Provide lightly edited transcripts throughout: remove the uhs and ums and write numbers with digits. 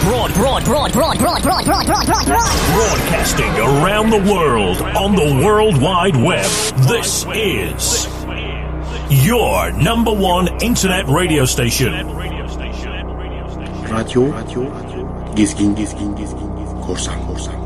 Broadcasting around the world on the World Wide Web. This is your number one internet radio station. Radyo Gezgin Korsan.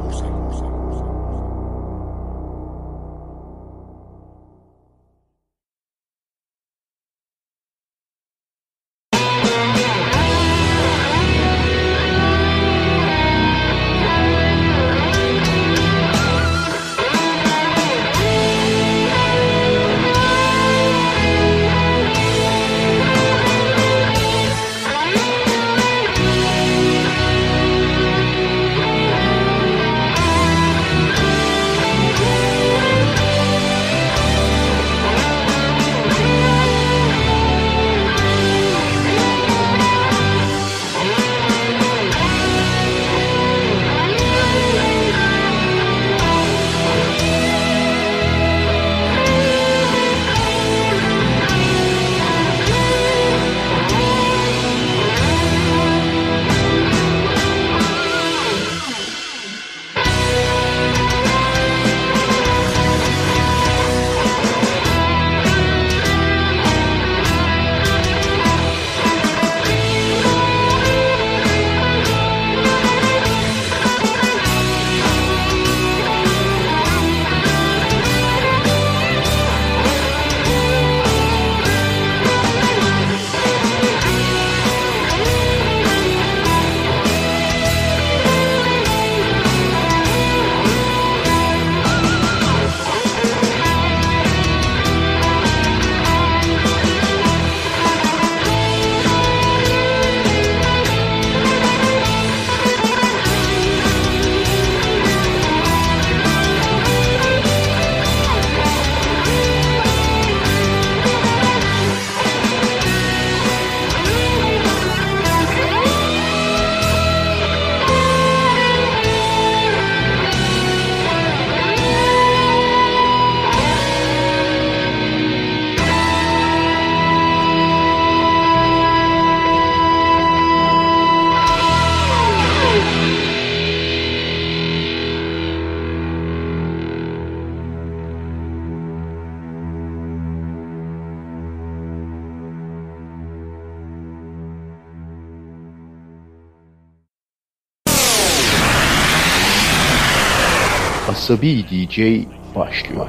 Asabi DJ başlıyor.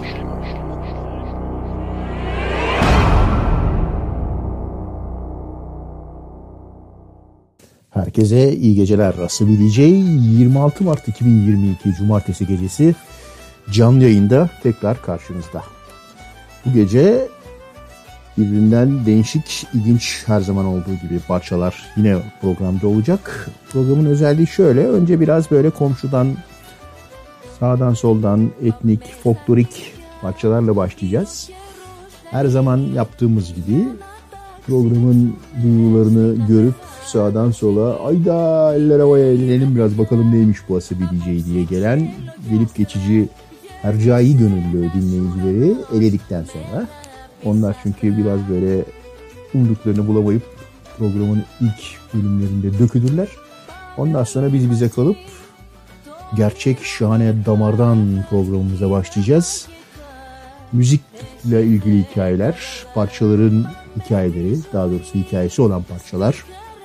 Herkese iyi geceler. Asabi DJ 26 Mart 2022 Cumartesi gecesi canlı yayında tekrar karşınızda. Bu gece birbirinden değişik, ilginç her zaman olduğu gibi parçalar yine programda olacak. Programın özelliği şöyle: önce biraz böyle komşudan, sağdan soldan etnik, folklorik parçalarla başlayacağız. Her zaman yaptığımız gibi programın duyularını görüp sağdan sola ayda eller havaya ellenelim biraz bakalım neymiş bu Asabi DJ diye gelen gelip geçici hercai gönüllü dinleyicileri eledikten sonra, onlar çünkü biraz böyle umduklarını bulamayıp programın ilk bölümlerinde dökülürler. Ondan sonra biz bize kalıp gerçek şahane damardan programımıza başlayacağız. Müzikle ilgili hikayeler, parçaların hikayeleri, daha doğrusu hikayesi olan parçalar,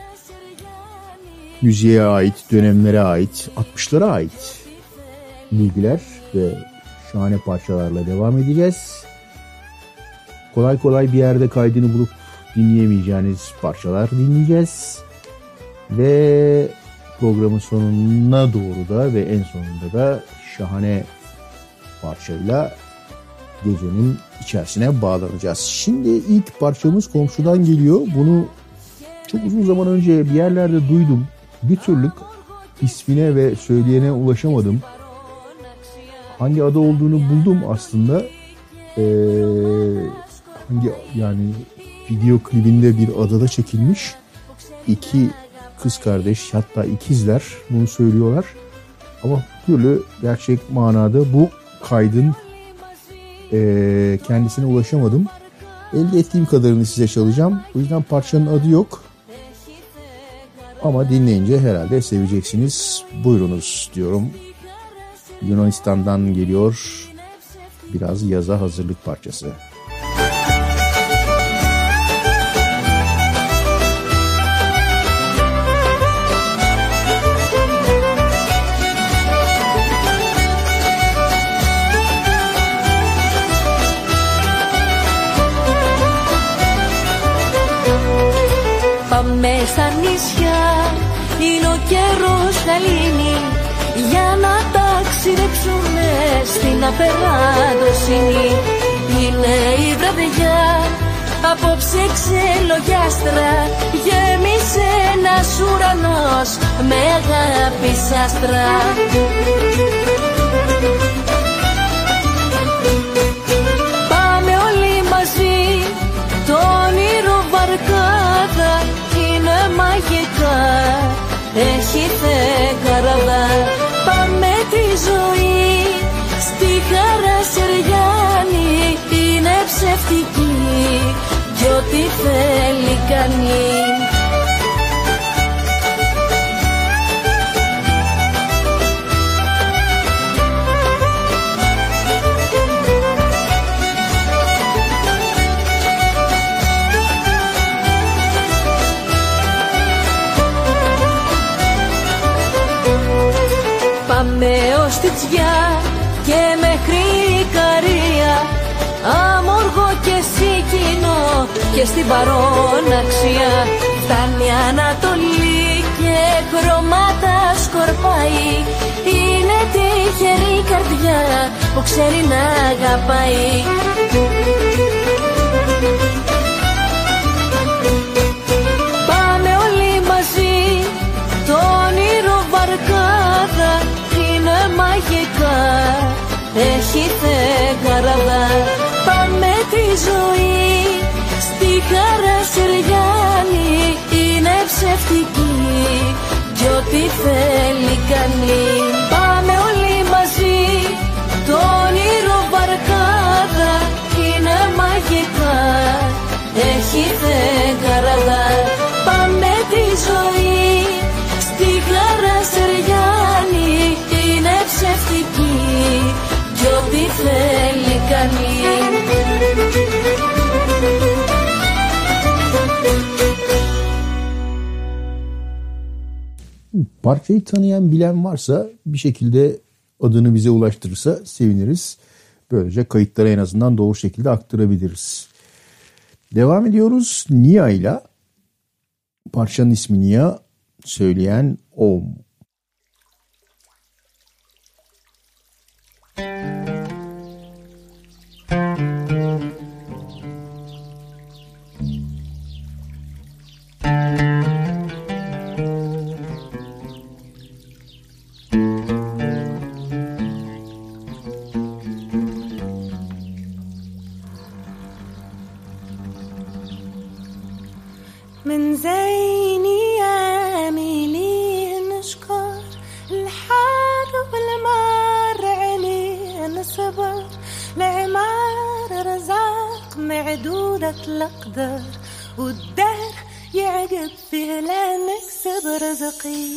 müziğe ait, dönemlere ait, 60'lara ait bilgiler ve şahane parçalarla devam edeceğiz. Kolay kolay bir yerde kaydını bulup dinleyemeyeceğiniz parçalar dinleyeceğiz. Ve programın sonuna doğru da ve en sonunda da şahane parçayla gecenin içerisine bağlanacağız. Şimdi ilk parçamız komşudan geliyor. Bunu çok uzun zaman önce bir yerlerde duydum. Bir türlü ismine ve söyleyene ulaşamadım. Hangi adı olduğunu buldum aslında. Yani video klibinde bir adada çekilmiş. İki kız kardeş, hatta ikizler bunu söylüyorlar. Ama bir türlü gerçek manada bu kaydın kendisine ulaşamadım. Elde ettiğim kadarını size çalacağım. O yüzden parçanın adı yok. Ama dinleyince herhalde seveceksiniz. Buyurunuz diyorum. Yunanistan'dan geliyor biraz yaza hazırlık parçası. Πάμε στα νησιά, είναι ο καιρός θα λύνει, για να ταξιδέψουμε στην απεράντοσύνη. Είναι η βραδιά, απόψε ξελογιάστρα, γέμισε ένας ουρανός με αγάπη σ' άστρα. Πάμε όλοι μαζί, το όνειρο βαρκάδα είναι μαγικά, έχει θεκαραδά. Πάμε τη ζωή στη χαρά Σεριάννη, είναι ψευτική κι ό,τι θέλει κάνει. Πάμε ως τη Τσιά και μέχρι Ικαρία, Αμόργο και Σικινό και στην παρόναξια. Φτάνει Ανατολή και χρώματα σκορπάει, είναι τυχερή η καρδιά που ξέρει να αγαπάει. Πάμε όλοι μαζί, το όνειρο βαρκάδα είναι μαγικά, έχει θεκαραδά. Πάμε τη ζωή στη χαρά Σεριάννη, είναι ψευτική κι ό,τι θέλει κάνει. Πάμε όλοι μαζί, το όνειρο βαρκάδα είναι μαγικά, έχει θεκαραδά. Πάμε τη ζωή στη χαρά Σεριάννη, είναι ψευτική κι ό,τι θέλει κάνει. Parçayı tanıyan bilen varsa bir şekilde adını bize ulaştırırsa seviniriz. Böylece kayıtları en azından doğru şekilde aktarabiliriz. Devam ediyoruz Nia ile. Parçanın ismi Nia, söyleyen Om. من زين ياميلي نشكر الحار والمار علينا صبر العمار رزاق معدودة الأقدار والدهر يعقب فيه لا نكسب رزقي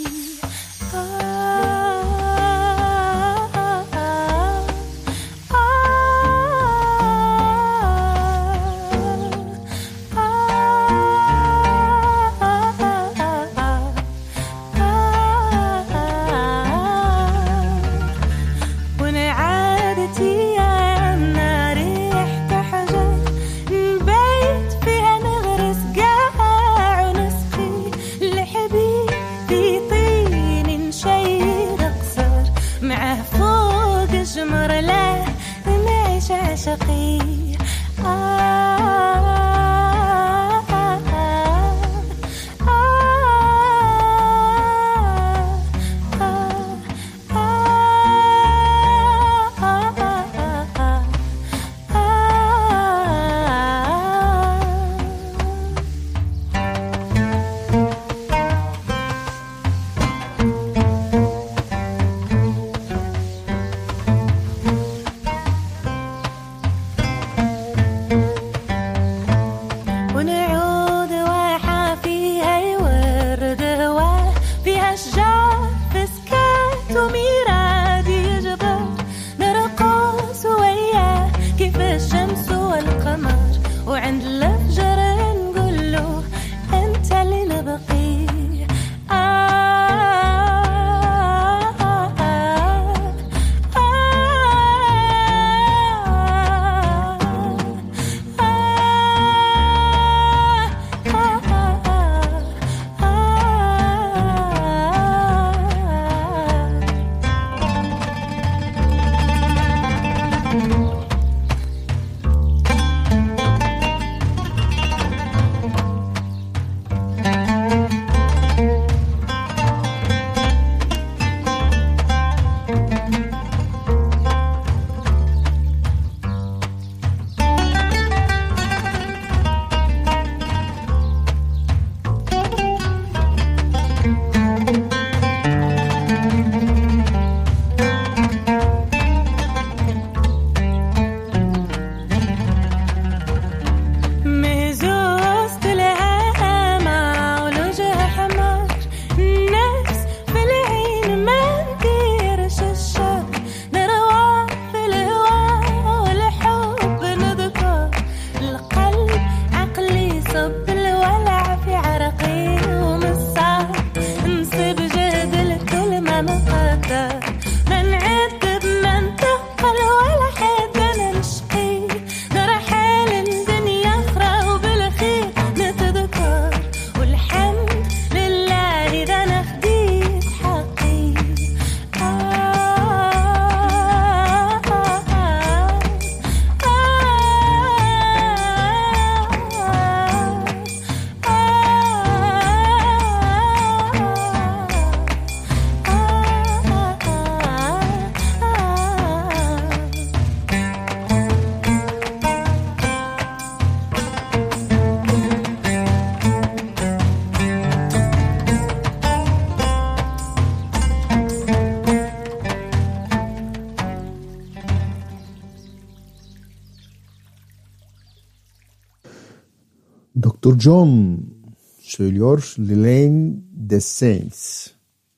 Dr. John söylüyor Lane the Saints.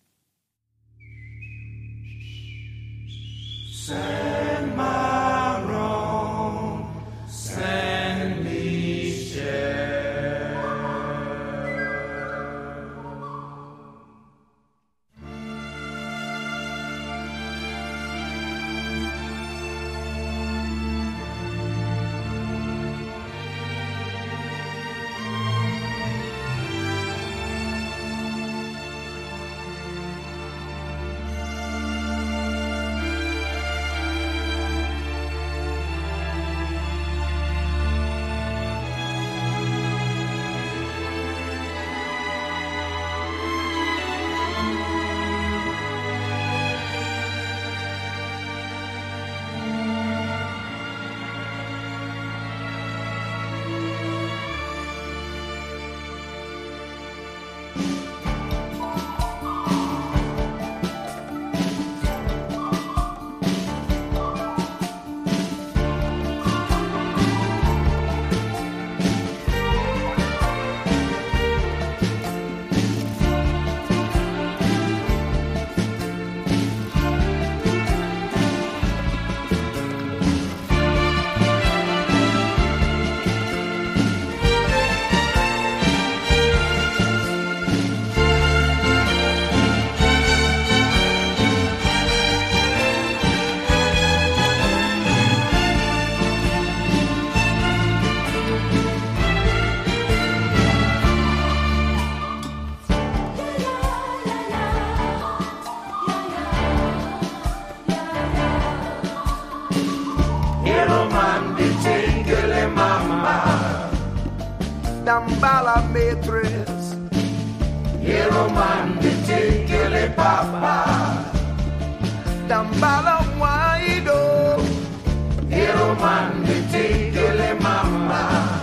Send my wrong, send me share. Dambala matrix, hero man, the tickle papa. Dambala waido, hero man, the tickle mama.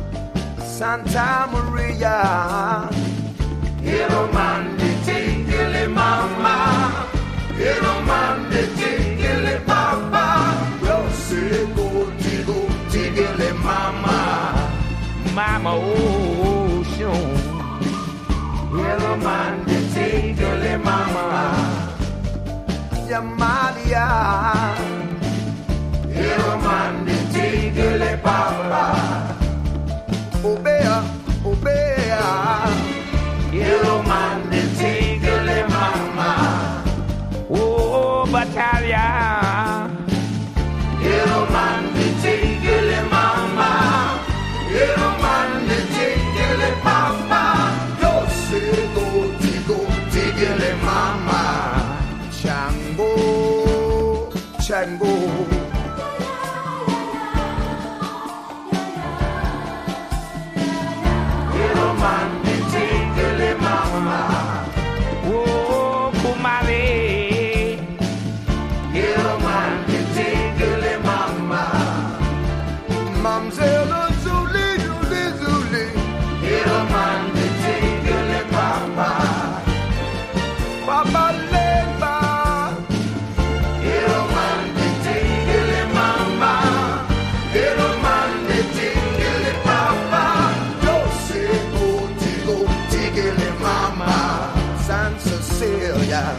Santa Maria, hero man, the tickle mama. Hero man, the tickle papa. Yo say go tickle mama. Mama ocean, yellow man, the tickle mama. Yamalia, yellow man, the tickle papa. Obea, yellow man, the tickle mama. Oh, battalion, yellow man, the tickle mama. Hero man, the tickle papa. Yo say go tickle mama. Chango. Hero man, the tickle mama. Oh, Kumare. Hero man, the tickle mama. Mamzelle. Hero man, the tickle papa. Papa Lemba. Hero man, the tickle mama. Hero man, the tickle papa. Yo say go tickle mama. San Cecilia.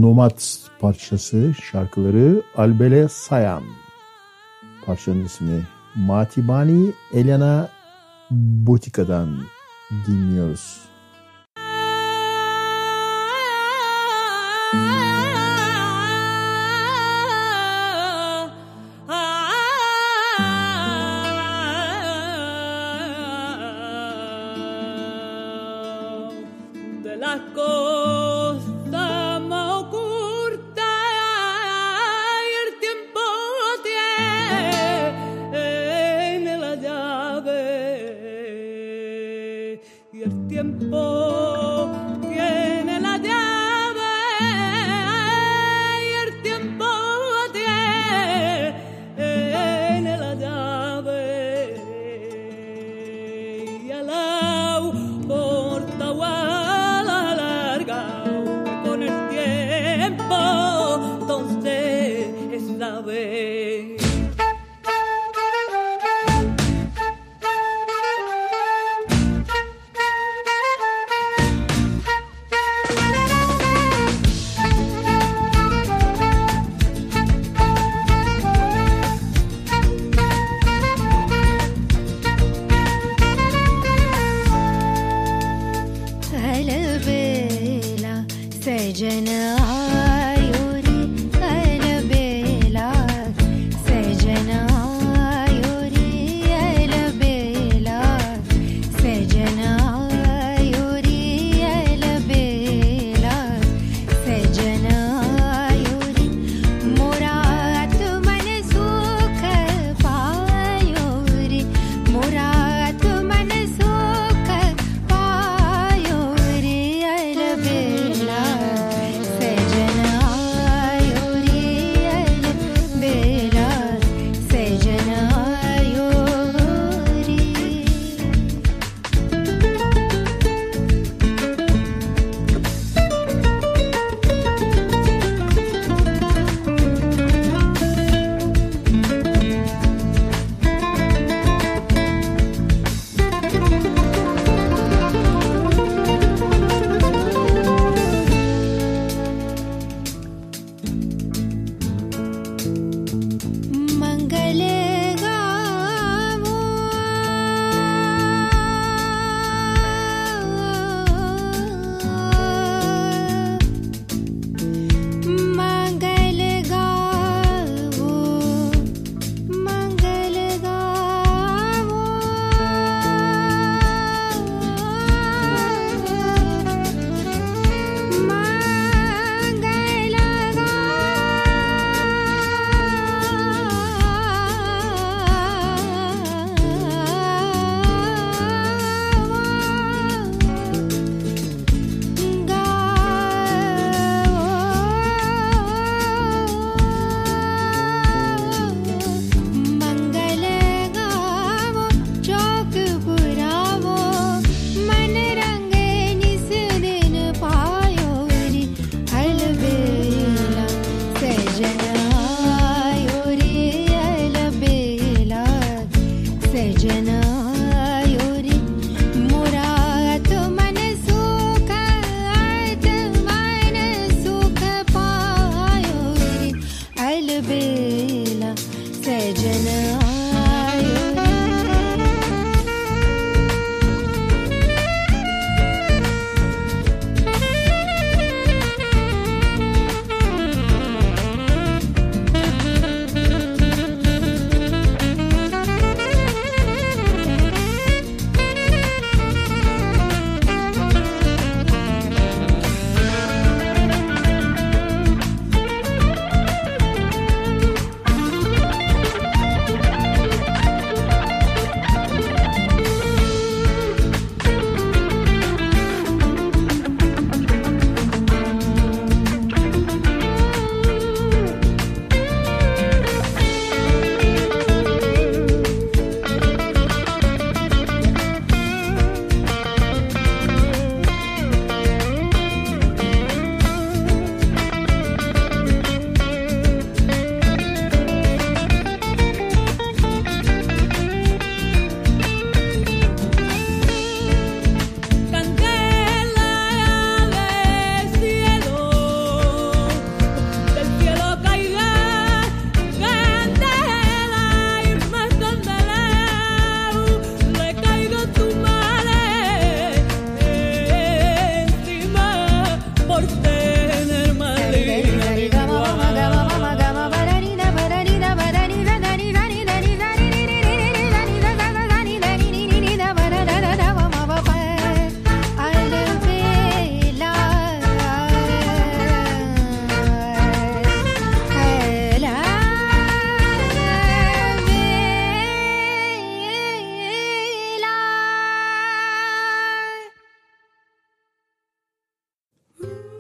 Nomad parçası, şarkıları Albele Sayan. Parçanın ismi Matibani Elena Botika'dan dinliyoruz.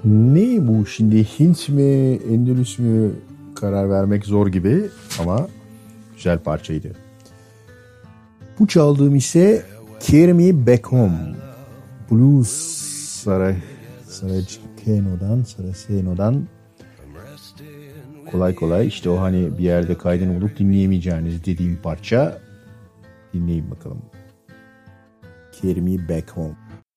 Ne bu şimdi, Hint mi Endülüs mü karar vermek zor gibi ama güzel parçaydı. Bu çaldığım ise Carry Me Back Home. Blues Saraceno'dan kolay kolay işte o hani bir yerde kaydını bulup dinleyemeyeceğiniz dediğim parça. Dinleyin bakalım. Carry Me Back Home.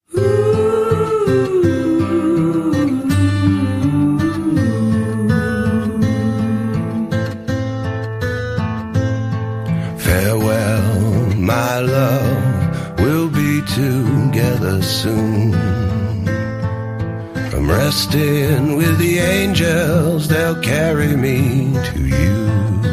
Farewell, my love, we'll be together soon. I'm resting with the angels, they'll carry me to you.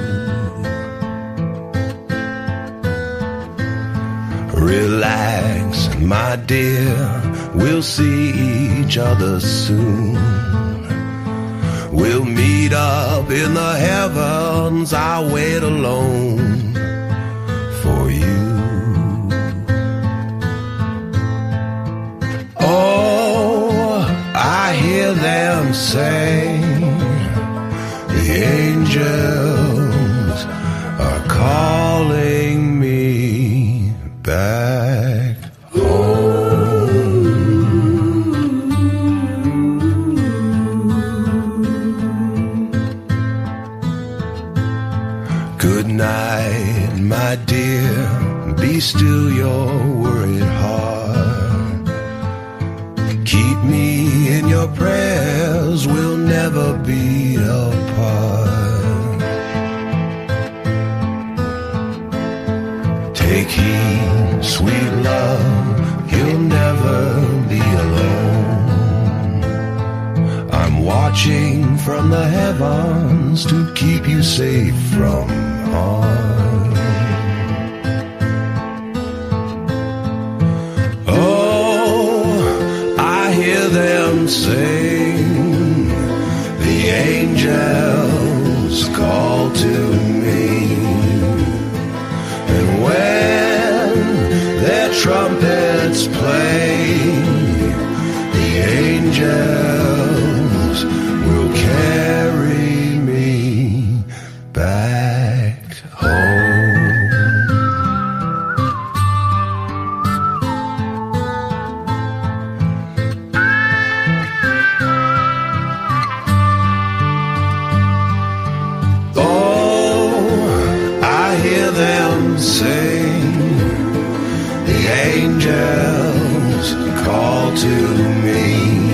Relax, my dear, we'll see each other soon. We'll meet up in the heavens, I'll wait alone for you. Oh, I hear them say the angels are calling me back home. Good night, my dear, be still your worried heart. Keep me in your prayers, we'll never be apart. Take heed, sweet love, you'll never be alone. I'm watching from the heavens to keep you safe from harm. Oh, I hear them sing, the angels call to me. And when their trumpets play, the angels will carry me back home. Sing, the angels call to me,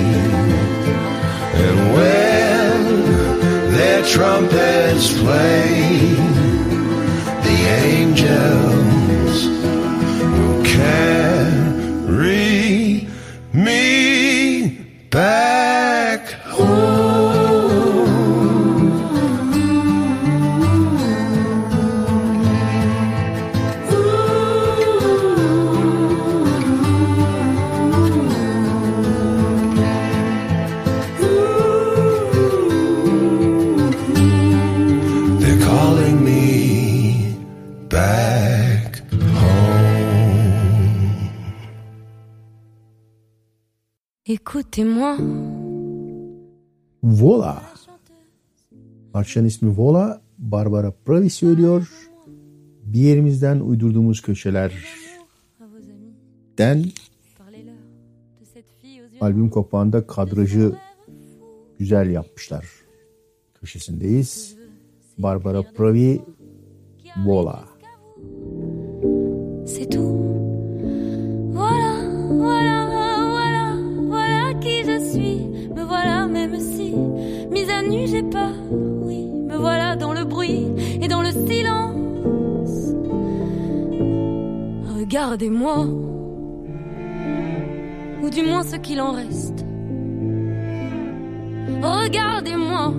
and when their trumpets play, the angels will carry me back home. Écoutez-moi. Vola. Parçanın ismi Vola. Barbara Pravi söylüyor. Bir yerimizden uydurduğumuz köşelerden albüm kapağında kadrajı güzel yapmışlar. Köşesindeyiz. Barbara Pravi, Vola. C'est tout. Voilà, voilà, voilà, voilà qui je suis. Me voilà même si, mise à nu j'ai peur. Oui, me voilà dans le bruit et dans le silence. Regardez-moi, ou du moins ce qu'il en reste. Regardez-moi,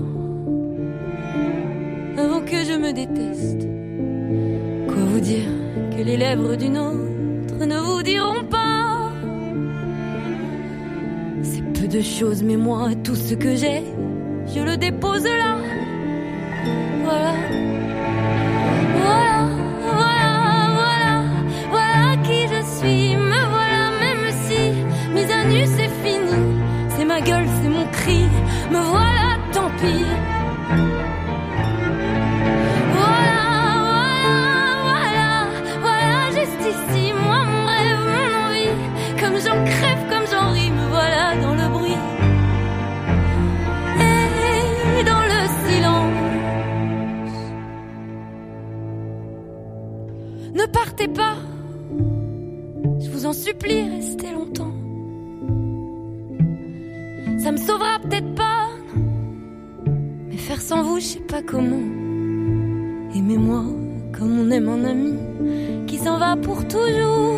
avant que je me déteste. Quoi vous dire que les lèvres d'une autre ne vous diront pas? C'est peu de choses, mais moi, tout ce que j'ai, je le dépose là. Voilà, voilà, voilà, voilà, voilà qui je suis. Me voilà même si, mise à nu c'est fini. C'est ma gueule, c'est mon cri. suffit. Voilà, voilà, voilà, voilà, juste ici, moi, mon rêve, mon envie. Comme j'en crève, comme j'en ris, me voilà dans le bruit. Et dans le silence. Ne partez pas, je vous en supplie, restez longtemps. Ça me sauvera peut-être pas, non. Mais faire sans vous, je sais pas comment. Aimez-moi comme on aime un ami qui s'en va pour toujours.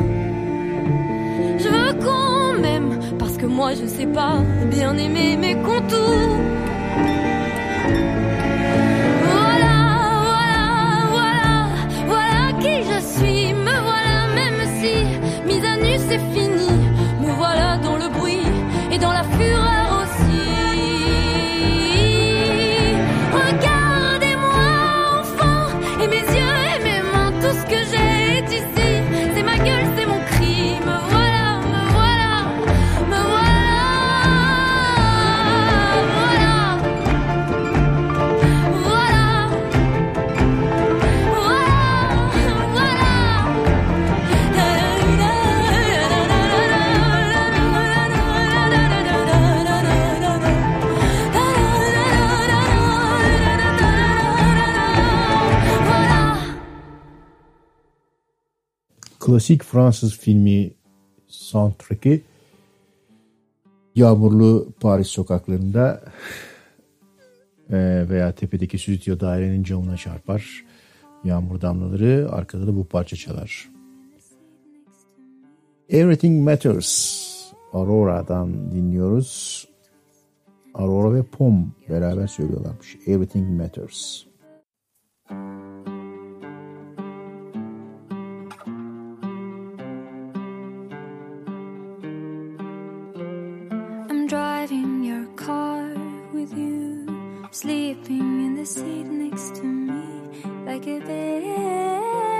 Je veux qu'on m'aime parce que moi je sais pas bien aimer mes contours. Voilà, voilà, voilà, voilà qui je suis. Me voilà même si mise à nu c'est fini. Me voilà dans le bruit et dans la fureur aussi. Regardez-moi enfant et mes yeux et mes mains, tout ce que j'ai est ici. C'est ma gueule, c'est mon cri. Me voilà, me voilà, me voilà, voilà, voilà, Klasik Fransız filmi soundtrack'i yağmurlu Paris sokaklarında veya tepedeki stüdyo dairenin camına çarpar. Yağmur damlaları, arkada da bu parça çalar. Everything Matters Aurora'dan dinliyoruz. Aurora ve Pom beraber söylüyorlarmış. Everything Matters. I'm driving your car with you, sleeping in the seat next to me like a baby.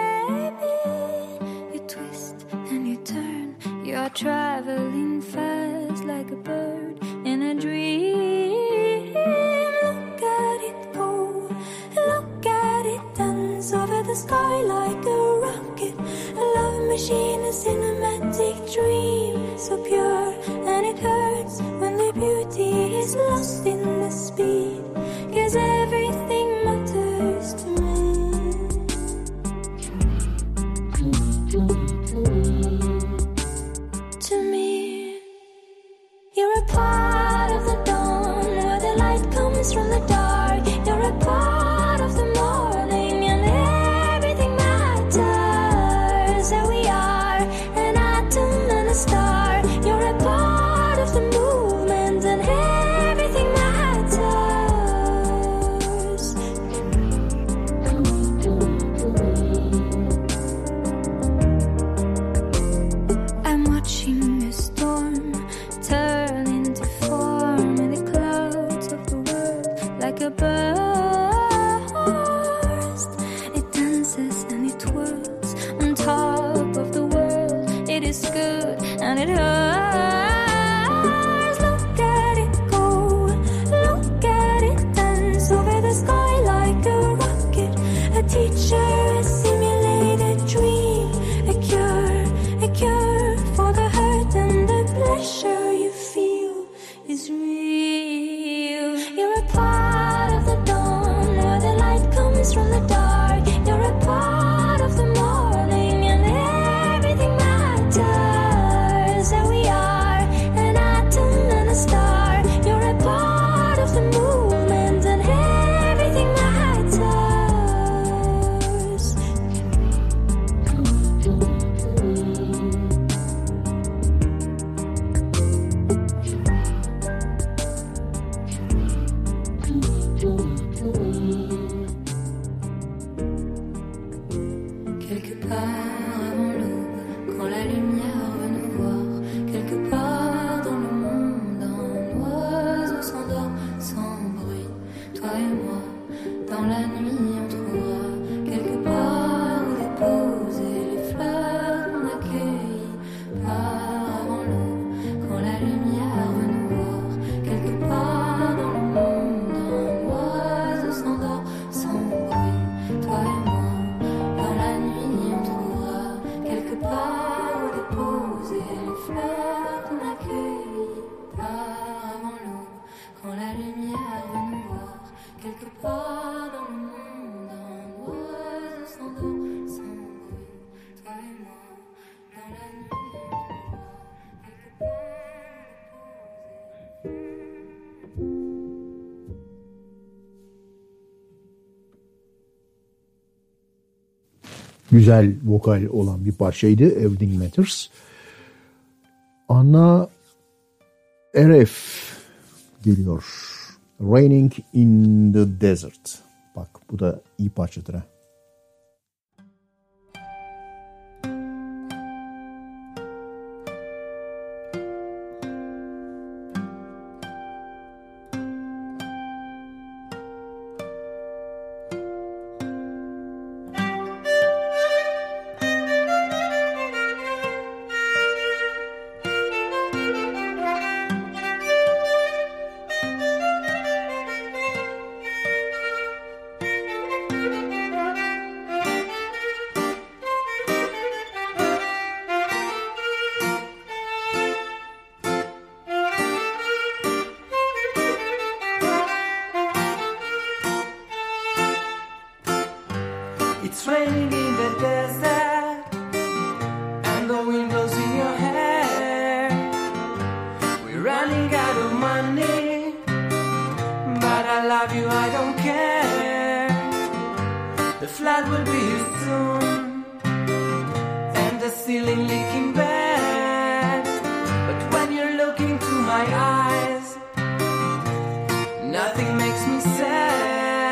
You twist and you turn, you're traveling fast like a bird in a dream. Look at it go, look at it dance over the sky like a rocket. A love machine, a cinematic dream, so pure and it hurts when the beauty is lost in the speed. 'Cause everything matters to me. To me, you're a part of the dawn where the light comes from the dark. You're a part of the morning and everything matters. There we are, an atom and a star. You're a part of the movement and everything matters. I'm watching a storm turn into form in the clouds of the world like a burst. It dances and it twirls on top of the world. It is good and it hurts. Look at it go, look at it dance over the sky like a rocket. A teacher, a simulated dream, a cure for the hurt and the pleasure you feel is real. You're a part of the dawn where the light comes from the dark. You're a part of the morning and everything matters. There we güzel vokal olan bir parçaydı. Everything Matters. Anna Aref geliyor. Raining in the Desert. Bak bu da iyi parçadır ha. It's raining in the desert, and the wind blows in your hair. We're running out of money, but I love you, I don't care. The flood will be here soon, and the ceiling leaking bad. But when you're looking to my eyes, nothing makes me sad.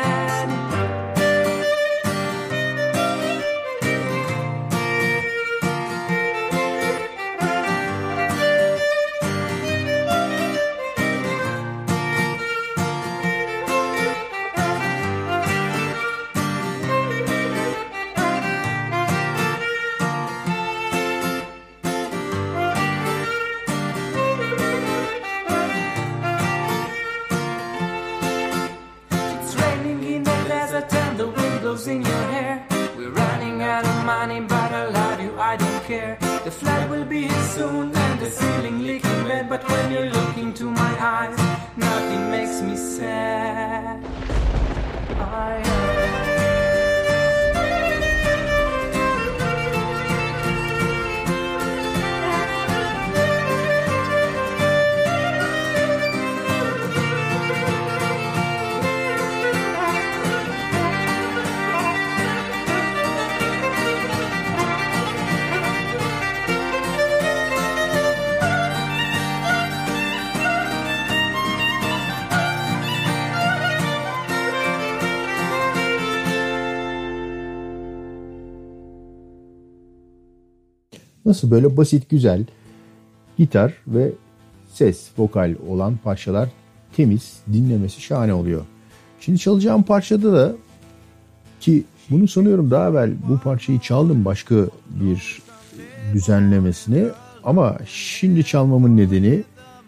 In your hair, we're running out of money, but I love you, I don't care. The flood will be here soon, and the ceiling leaking red. But when you're looking to my eyes, nothing makes me sad. Nasıl böyle basit, güzel gitar ve ses, vokal olan parçalar temiz, dinlemesi şahane oluyor. Şimdi çalacağım parçada da, ki bunu sanıyorum daha evvel bu parçayı çaldım başka bir düzenlemesini, ama şimdi çalmamın nedeni,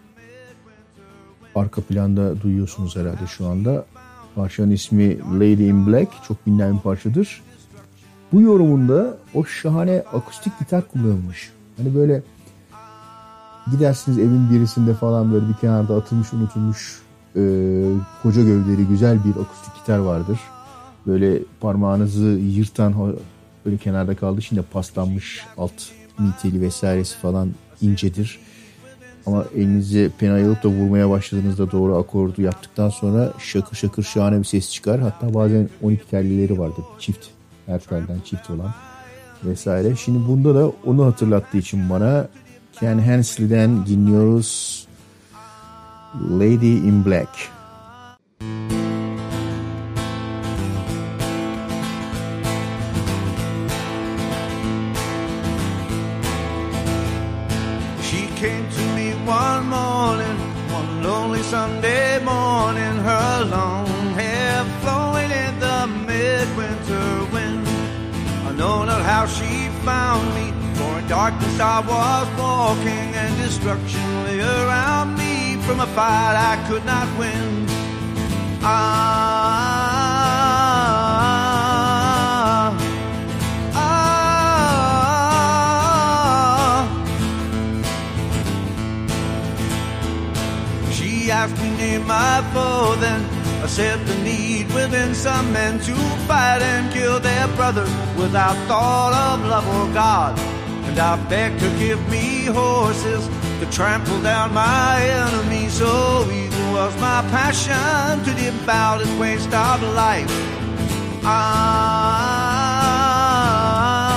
arka planda duyuyorsunuz herhalde şu anda, parçanın ismi Lady in Black, çok bilinen bir parçadır. Bu yorumunda o şahane akustik gitar kullanılmış. Hani böyle gidersiniz evin birisinde falan, böyle bir kenarda atılmış, unutulmuş koca gövdeli güzel bir akustik gitar vardır. Böyle parmağınızı yırtan, böyle kenarda kaldığı için de paslanmış, alt miteli vesairesi falan incedir. Ama elinizi penayı alıp da vurmaya başladığınızda doğru akordu yaptıktan sonra şakır şakır şahane bir ses çıkar. Hatta bazen 12 tellileri vardır, çift. Her telden çift olan vesaire. Şimdi bunda da onu hatırlattığı için bana Ken Hensley'den dinliyoruz Lady in Black. She came to me one morning, one lonely Sunday morning, her long hair flowing in the midwinter wind. I know not how she found me, for in darkness I was walking, and destruction lay around me from a fight I could not win. She asked me name my foe, then I said the need within some men to fight and kill their brothers without thought of love or God. And I begged to give me horses to trample down my enemies. So eager was my passion to devour this waste of life.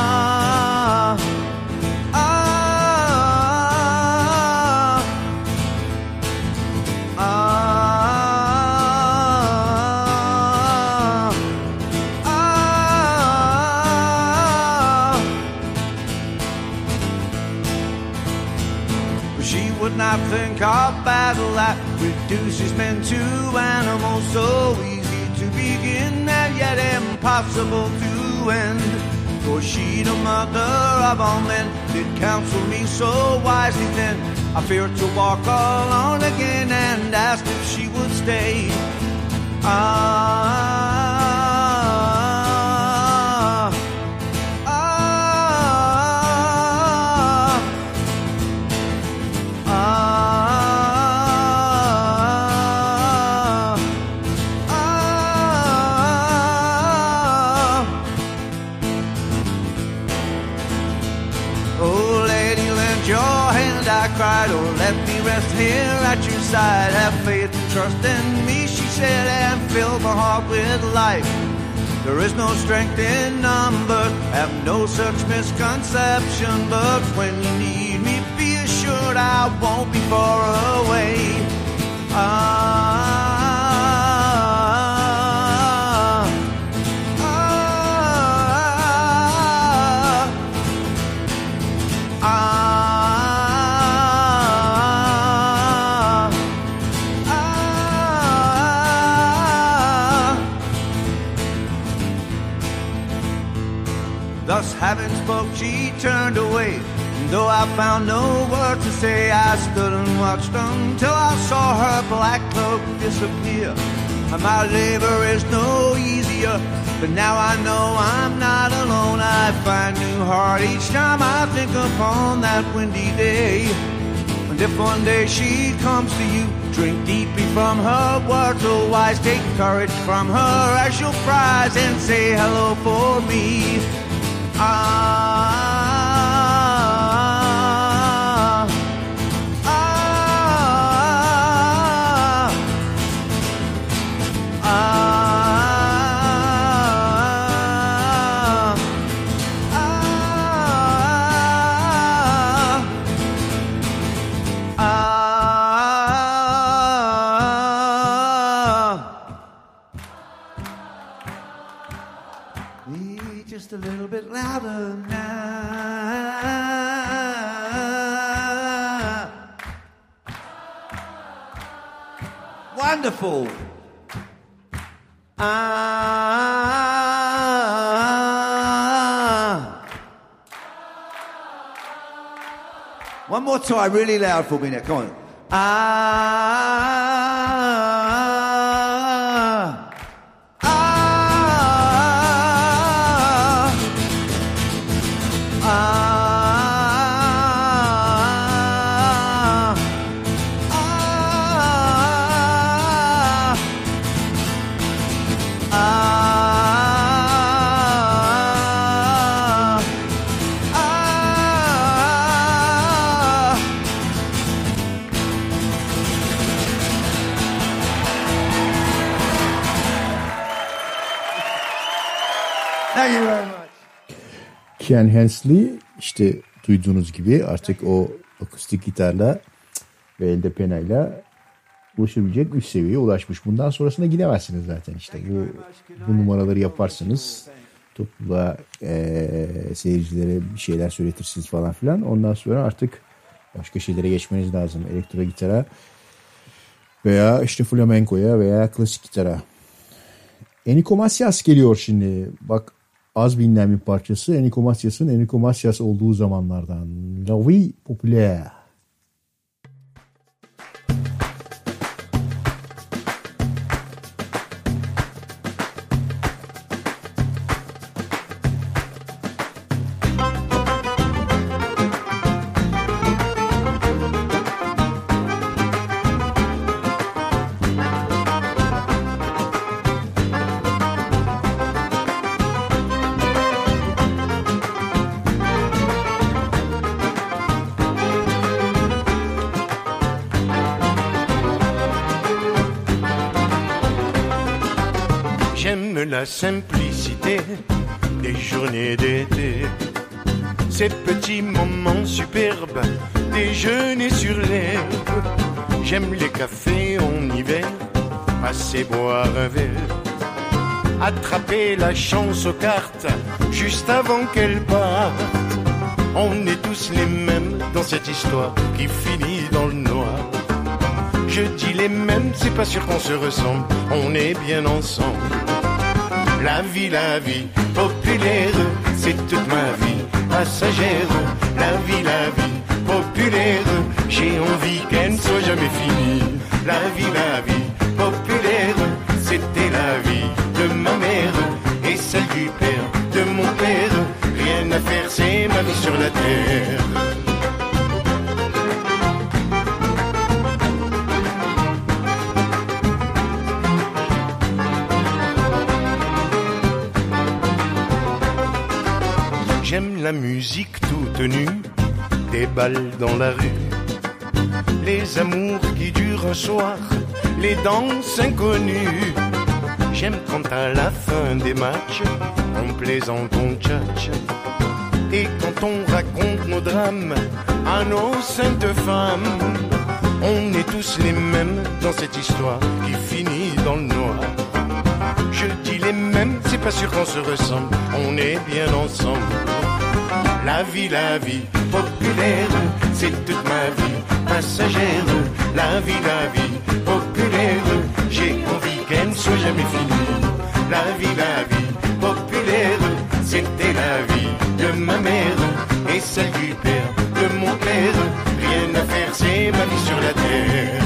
she would not think of battle that reduces men to animals, so easy to begin and yet impossible to end. For she, the mother of all men, did counsel me so wisely then. I feared to walk alone again and asked if she would stay. Cried, oh, let me rest here at your side. Have faith and trust in me, she said, and fill my heart with life. There is no strength in numbers, have no such misconception. But when you need me, be assured I won't be far away. Thus having spoke, she turned away. And though I found no words to say, I stood and watched until I saw her black cloak disappear. And my labor is no easier, but now I know I'm not alone. I find new heart each time I think upon that windy day. And if one day she comes to you, drink deeply from her words, oh wise, take courage from her as your prize and say hello for me. Just a little bit louder now. Wonderful. One more time, really loud for me now. Come on. Ken Hensley, işte duyduğunuz gibi artık o akustik gitarla ve elde penayla ulaşabilecek üst seviyeye ulaşmış. Bundan sonrasında gidemezsiniz zaten işte. Bu numaraları yaparsınız. Topluluğa, seyircilere bir şeyler söyletirsiniz falan filan. Ondan sonra artık başka şeylere geçmeniz lazım. Elektro gitara veya işte flamenkoya veya klasik gitara. Enrico Macias geliyor şimdi. Bak, az bilinen bir parçası. Enrico Macias'ın Enrico Macias olduğu zamanlardan. La Vie Populaire. La simplicité des journées d'été, ces petits moments superbes, déjeuner sur l'herbe. J'aime les cafés en hiver, passer boire un verre, attraper la chance aux cartes juste avant qu'elle parte. On est tous les mêmes, dans cette histoire qui finit dans le noir. Je dis les mêmes, c'est pas sûr qu'on se ressemble, on est bien ensemble. La vie, populaire, c'est toute ma vie passagère. La vie, populaire, j'ai envie qu'elle ne soit jamais finie. La vie, populaire, c'était la vie de ma mère et celle du père de mon père. Rien à faire, c'est ma vie sur la terre. J'aime la musique toute nue, des balles dans la rue, les amours qui durent un soir, les danses inconnues. J'aime quand à la fin des matchs, on plaisante, on tchatche, et quand on raconte nos drames à nos saintes femmes. On est tous les mêmes dans cette histoire qui finit dans le noir. Je dis les mêmes, c'est pas sûr qu'on se ressemble, on est bien ensemble. La vie, populaire, c'est toute ma vie passagère. La vie, populaire, j'ai envie qu'elle ne soit jamais finie. La vie, populaire, c'était la vie de ma mère et celle du père de mon père. Rien à faire, c'est ma vie sur la terre.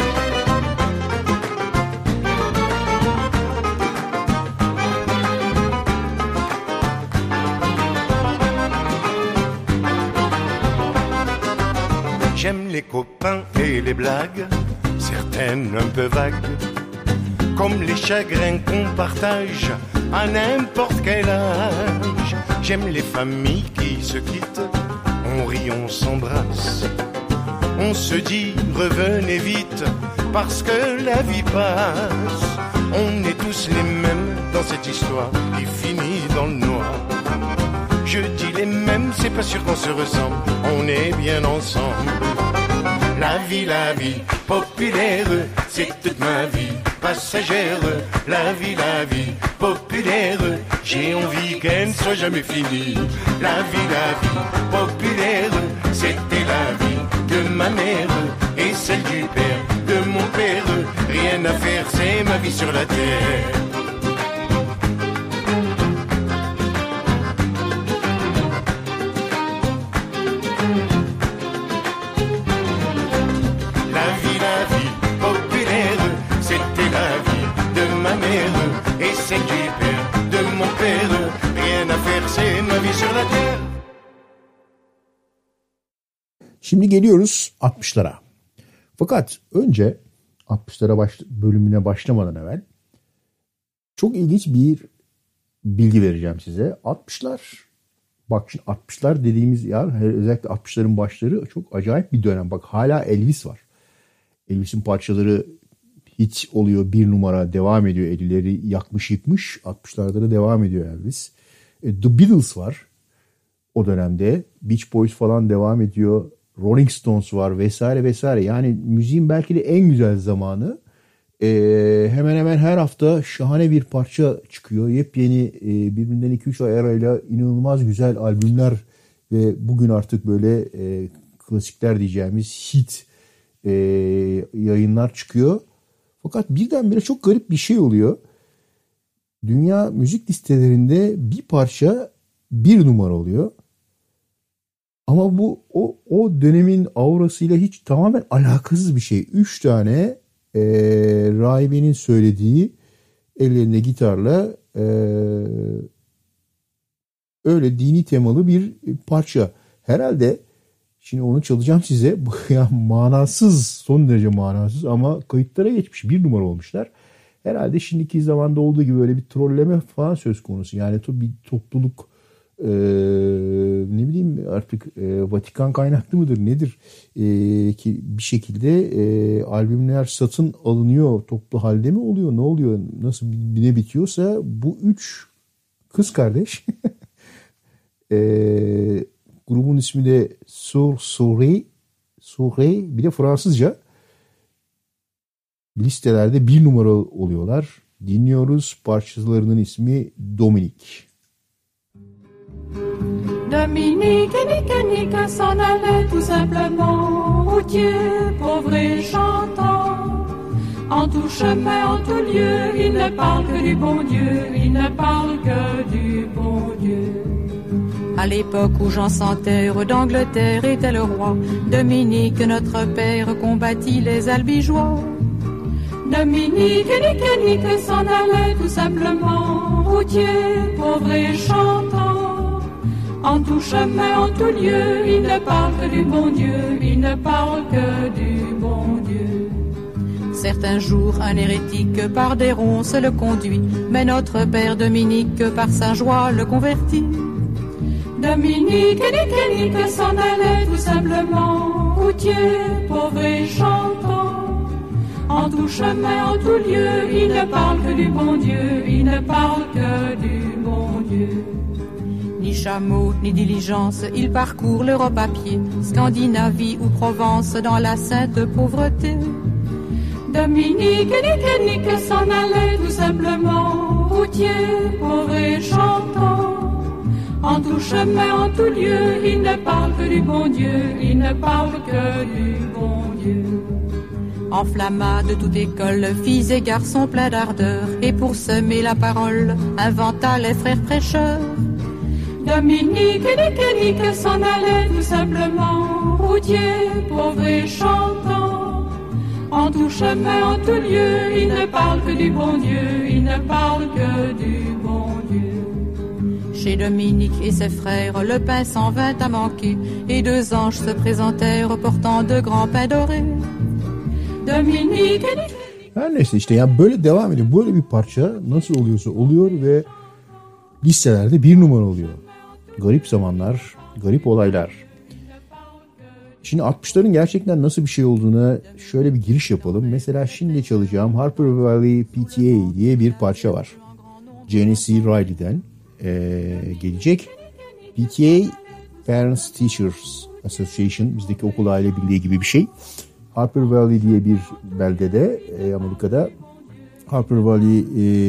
J'aime les copains et les blagues, certaines un peu vagues, comme les chagrins qu'on partage à n'importe quel âge. J'aime les familles qui se quittent, on rit, on s'embrasse, on se dit revenez vite parce que la vie passe. On est tous les mêmes dans cette histoire qui finit dans le noir. Je dis les mêmes, c'est pas sûr qu'on se ressemble, on est bien ensemble. La vie, populaire, c'est toute ma vie passagère. La vie, populaire, j'ai envie qu'elle ne soit jamais finie. La vie, populaire, c'était la vie de ma mère et celle du père de mon père. Rien à faire, c'est ma vie sur la terre. Et c'est du père de mon père. Rien à faire, c'est ma vie sur la terre. Şimdi geliyoruz 60'lara. Fakat önce 60'lara bölümüne başlamadan evvel çok ilginç bir bilgi vereceğim size. 60'lar, bak şimdi 60'lar dediğimiz yer, özellikle 60'ların başları çok acayip bir dönem. Bak hala Elvis var. Elvis'in parçaları hit oluyor, bir numara devam ediyor. 50'leri yakmış yıkmış, 60'larda da devam ediyor Elvis. The Beatles var o dönemde. Beach Boys falan devam ediyor. Rolling Stones var vesaire vesaire. Yani müziğin belki de en güzel zamanı. Hemen hemen her hafta şahane bir parça çıkıyor. Yepyeni birbirinden 2-3 ay arayla inanılmaz güzel albümler ve bugün artık böyle klasikler diyeceğimiz hit yayınlar çıkıyor. Fakat birdenbire çok garip bir şey oluyor. Dünya müzik listelerinde bir parça bir numara oluyor. Ama bu o dönemin aurasıyla hiç tamamen alakasız bir şey. 3 tane rahibenin söylediği ellerinde gitarla öyle dini temalı bir parça. Herhalde şimdi onu çalacağım size. Ya manasız, son derece manasız ama kayıtlara geçmiş, bir numara olmuşlar. Herhalde şimdiki zamanda olduğu gibi böyle bir trolleme falan söz konusu. Yani bir topluluk ne bileyim artık Vatikan kaynaklı mıdır nedir ki bir şekilde albümler satın alınıyor, toplu halde mi oluyor, ne oluyor, nasıl ne bitiyorsa bu 3 kız kardeş grubun ismi de Souré, bir de Fransızca listelerde bir numara oluyorlar. Dinliyoruz, parçalarının ismi Dominique. Dominique et Nique s'en allaient tout simplement, routier, pauvre et chantant. En tout chemin, en tout lieu, il ne parle que du bon Dieu, il ne parle que du bon Dieu. À l'époque où Jean sans terre d'Angleterre était le roi, Dominique, notre père, combattit les albigeois. Dominique et Nique s'en allaient tout simplement, routier, pauvre et chantant. En tout chemin, en tout lieu, il ne parle que du bon Dieu, il ne parle que du bon Dieu. Certains jours, un hérétique par des ronces le conduit, mais notre père Dominique, par sa joie, le convertit. Dominique et Nique s'en allaient tout simplement, routier, pauvre et chantant. En tout chemin, en tout lieu, il ne parle que du bon Dieu, il ne parle que du bon Dieu. Ni chameau, ni diligence, il parcourt l'Europe à pied, Scandinavie ou Provence dans la sainte pauvreté. Dominique et Nique s'en allaient tout simplement, routier, pauvre et chantant. En tout chemin, en tout lieu, il ne parle que du bon Dieu, il ne parle que du bon Dieu. Enflamma de toute école, filles et garçons pleins d'ardeur, et pour semer la parole, inventa les frères prêcheurs. Dominique et Nique s'en allaient tout simplement, routier, pauvre et chantant. En tout chemin, en tout lieu, il ne parle que du bon Dieu, il ne parle que du bon Dieu. Chez Dominique et ses frères, le pain s'en vint à manquer, et 2 anges se présentèrent portant de grands pains dorés. Dominique et Nique. Her neyse işte ya böyle devam ediyor. Böyle bir parça nasıl oluyorsa oluyor ve listelerde 1 numara oluyor. Garip zamanlar, garip olaylar. Şimdi 60'ların gerçekten nasıl bir şey olduğuna şöyle bir giriş yapalım. Mesela şimdi çalacağım Harper Valley PTA diye bir parça var. Genesee Riley'den gelecek. PTA Parents Teachers Association, bizdeki okul aile birliği gibi bir şey. Harper Valley diye bir beldede Amerika'da Harper Valley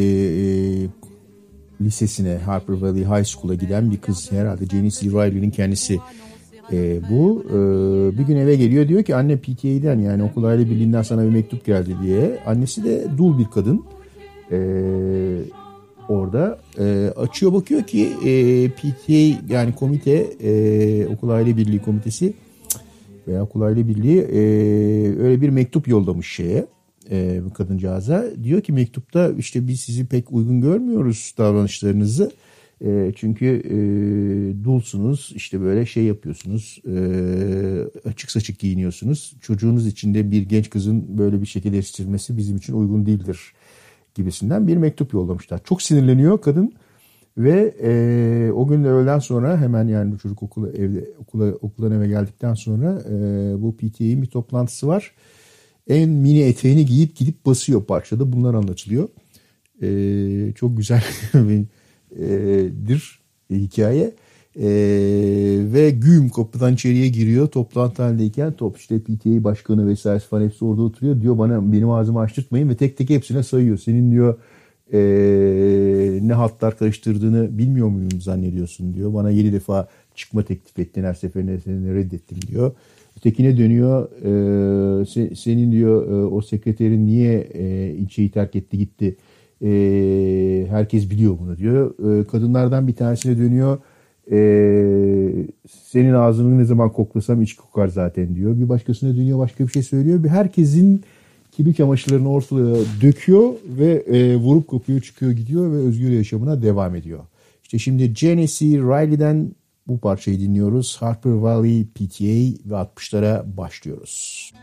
lisesine, Harper Valley High School'a giden bir kız, herhalde Genesee Riley'nin kendisi bu. Bir gün eve geliyor, diyor ki anne PTA'den, yani okul aile birliğinden sana bir mektup geldi diye. Annesi de dul bir kadın. Orada açıyor, bakıyor ki PTA, yani komite, okul aile birliği komitesi veya okul aile birliği öyle bir mektup yollamış şeye, bu kadıncağıza. Diyor ki mektupta işte biz sizi pek uygun görmüyoruz, davranışlarınızı. Çünkü dulsunuz, işte böyle şey yapıyorsunuz, açık saçık giyiniyorsunuz. Çocuğunuz için de bir genç kızın böyle bir şekilde yetiştirilmesi bizim için uygun değildir gibisinden bir mektup yollamışlar. Çok sinirleniyor kadın ve o gün öğleden sonra hemen, yani bu çocuk okuldan eve geldikten sonra bu PTA'nin bir toplantısı var. En mini eteğini giyip gidip basıyor, parçada bunlar anlatılıyor. Çok güzel bir hikaye. Ve güm kapıdan içeriye giriyor toplantı halindeyken, işte PTA başkanı vesaire falan hepsi orada oturuyor. Diyor bana, benim ağzımı açtırtmayın ve tek tek hepsine sayıyor. Senin diyor ne hatlar karıştırdığını bilmiyor muyum zannediyorsun diyor. Bana 7 defa çıkma teklif ettin, her seferinde seni reddettim diyor. Ötekine dönüyor, senin diyor o sekreterin niye ilçeyi terk etti gitti, herkes biliyor bunu diyor. Kadınlardan bir tanesine dönüyor, senin ağzını ne zaman koklasam iç kokar zaten diyor. Bir başkasına dönüyor, başka bir şey söylüyor. Herkesin kirli çamaşırlarını ortalığa döküyor ve vurup kopuyor, çıkıyor gidiyor ve özgür yaşamına devam ediyor. İşte şimdi Genesee Riley'den bu parçayı dinliyoruz. Harper Valley PTA ve 60'lara başlıyoruz.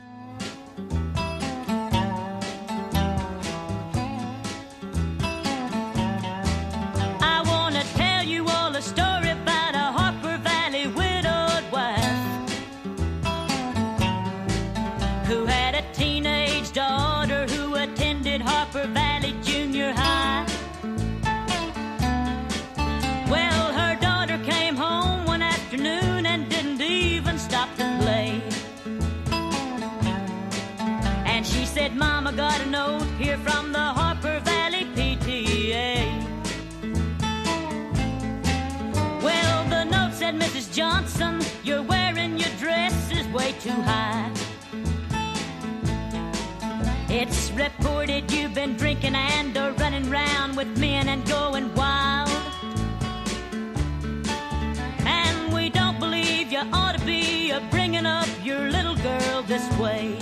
Mama got a note here from the Harper Valley PTA. Well, the note said said, Mrs. Johnson, you're wearing your dress is way too high. It's reported you've been drinking and running round with men and going wild. And we don't believe you ought to be bringing up your little girl this way.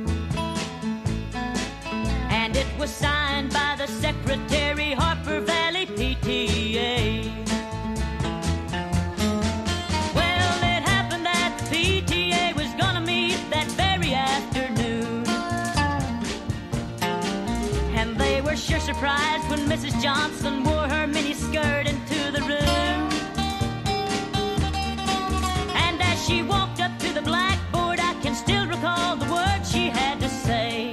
And it was signed by the secretary, Harper Valley PTA. Well, it happened that the PTA was gonna meet that very afternoon. And they were sure surprised when Mrs. Johnson wore her miniskirt into the room. And as she walked up to the blackboard, I can still recall the words she had to say.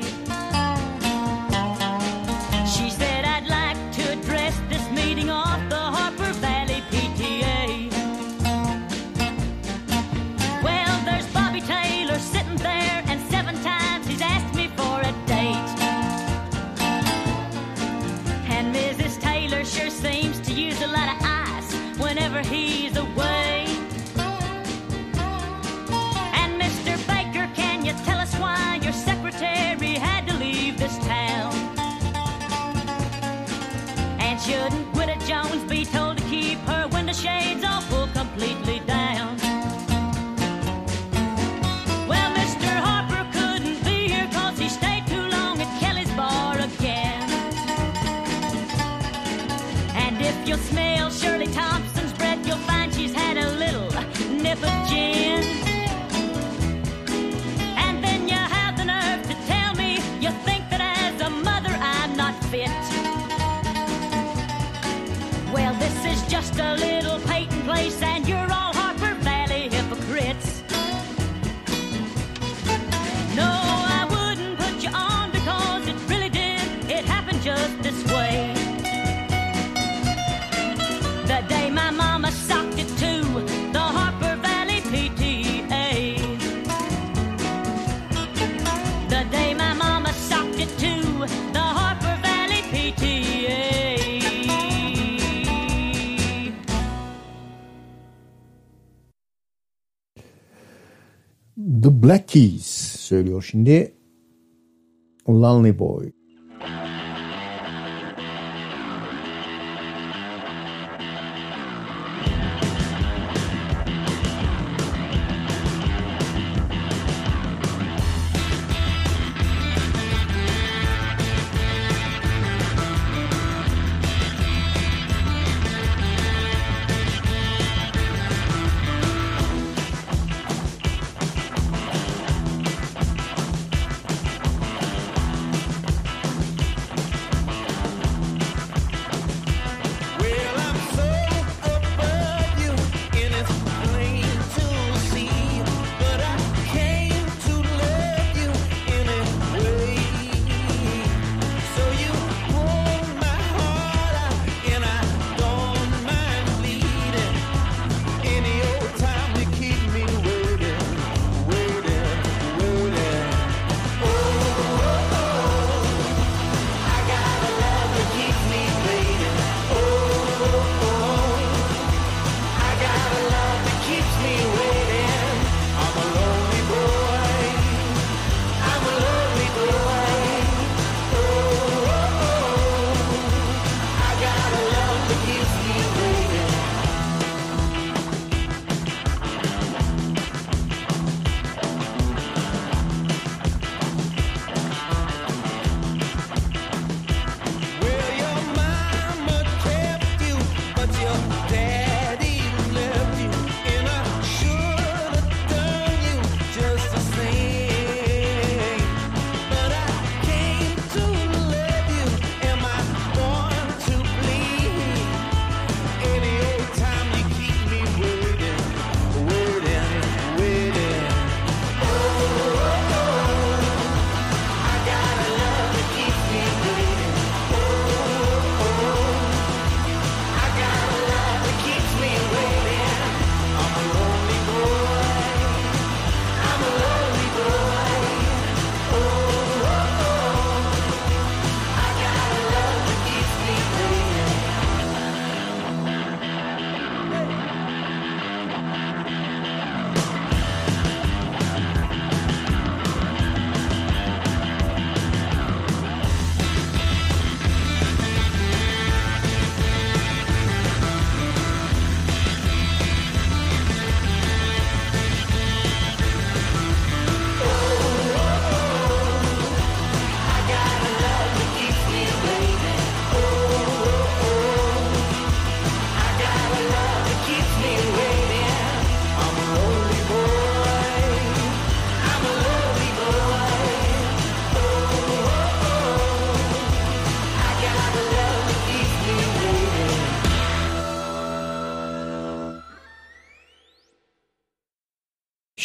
She said, I'd like to address this meeting off the Harper Valley PTA. Well, there's Bobby Taylor sitting there, and 7 times he's asked me for a date. And Mrs. Taylor sure seems to use a lot of ice whenever he's away. And Mr. Baker, can you tell us why your secretary had to leave this town? And shouldn't Widow Jones be told to keep her window shades all pulled completely down? Well, Mr. Harper couldn't be here 'cause he stayed too long at Kelly's bar again. And if you'll smell Shirley Thompson's breath, you'll find she's had a little nip of gin. And then you have the nerve to tell me you think that as a mother I'm not fit. Well, this is just a little Peyton place, and you're all Harper Valley hypocrites. No, I wouldn't put you on because it really did. It happened just this way. The day my mama socked it to the Harper Valley PTA. The day my mama socked it to the Harper Valley PTA. The Black Keys söylüyor şimdi Lonely Boy.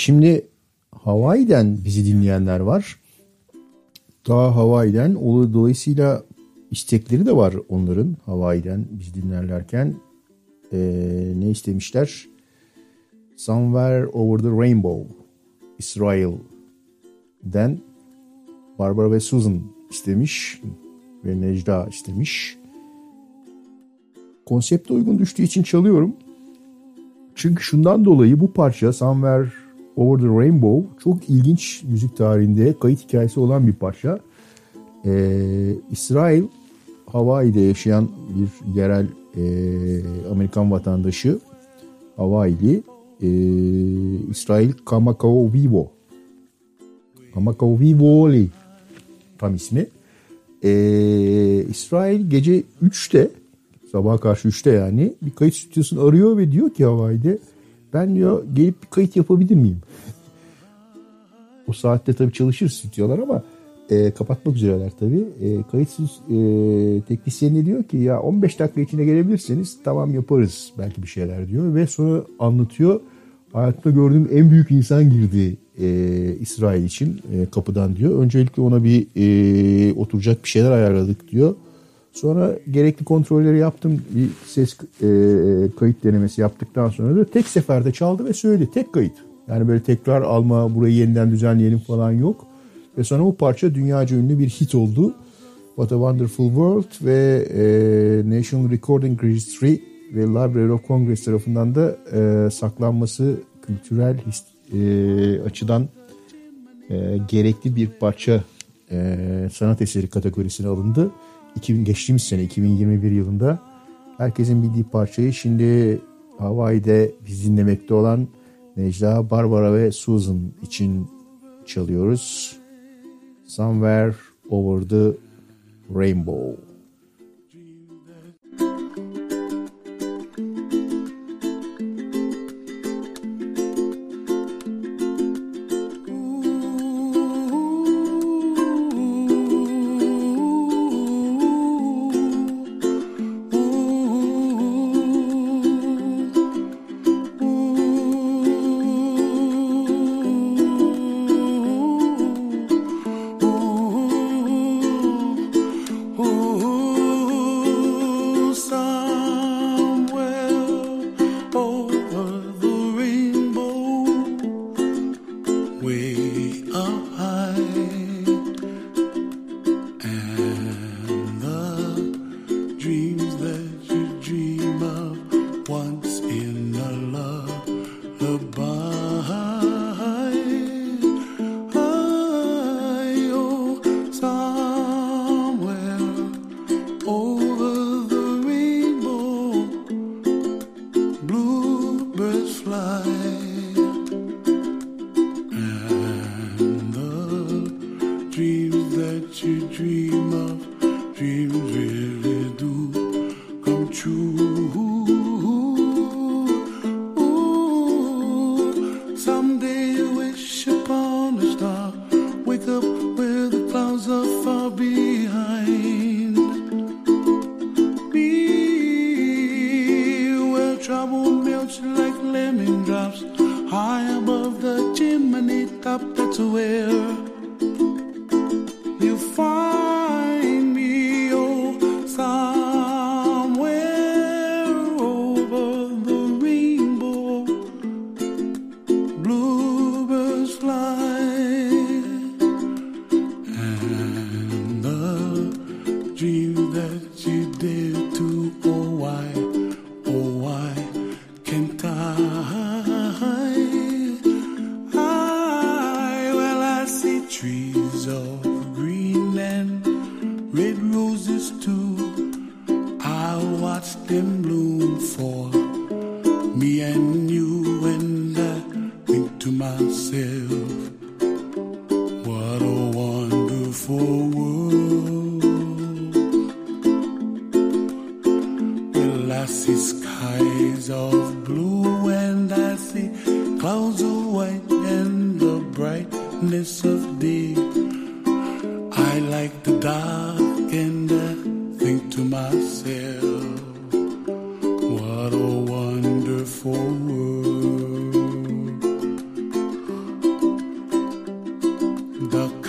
Şimdi Hawaii'den bizi dinleyenler var. Daha Hawaii'den, dolayısıyla istekleri de var onların. Hawaii'den bizi dinlerlerken ne istemişler? Somewhere Over the Rainbow, İsrail'den Barbara ve Susan istemiş ve Necda istemiş. Konsepte uygun düştüğü için çalıyorum. Çünkü şundan dolayı bu parça Somewhere Over the Rainbow çok ilginç müzik tarihinde kayıt hikayesi olan bir parça. İsrail, Hawaii'de yaşayan bir yerel Amerikan vatandaşı, Hawaii'li, İsrail Kamakawiwo'li tam ismi. İsrail gece 3'te, sabaha karşı 3'te yani bir kayıt stüdyosunu arıyor ve diyor ki Hawaii'de, ben diyor gelip bir kayıt yapabilir miyim? O saatte tabii çalışır stüdyolar ama kapatmak üzereler tabii. Kayıtsız teknisyenine diyor ki ya 15 dakika içinde gelebilirseniz tamam yaparız belki bir şeyler diyor. Ve sonra anlatıyor. Hayatımda gördüğüm en büyük insan girdi İsrail için kapıdan diyor. Öncelikle ona bir oturacak bir şeyler ayarladık diyor. Sonra gerekli kontrolleri yaptım. Bir ses kayıt denemesi yaptıktan sonra da tek seferde çaldı ve söyledi. Tek kayıt. Yani böyle tekrar alma, burayı yeniden düzenleyelim falan yok. Ve sonra bu parça dünyaca ünlü bir hit oldu. What a Wonderful World ve National Recording Registry ve Library of Congress tarafından da saklanması kültürel açıdan gerekli bir parça sanat eseri kategorisine alındı. Geçtiğimiz sene 2021 yılında herkesin bildiği parçayı şimdi Hawaii'de biz dinlemekte olan Necla, Barbara ve Susan için çalıyoruz. Somewhere Over the Rainbow.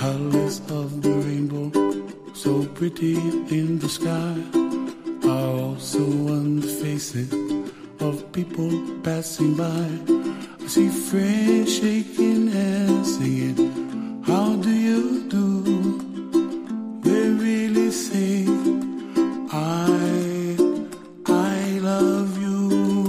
colors of the rainbow, so pretty in the sky, are also on the faces of people passing by. I see friends shaking hands, singing, how do you do? They really say, I love you.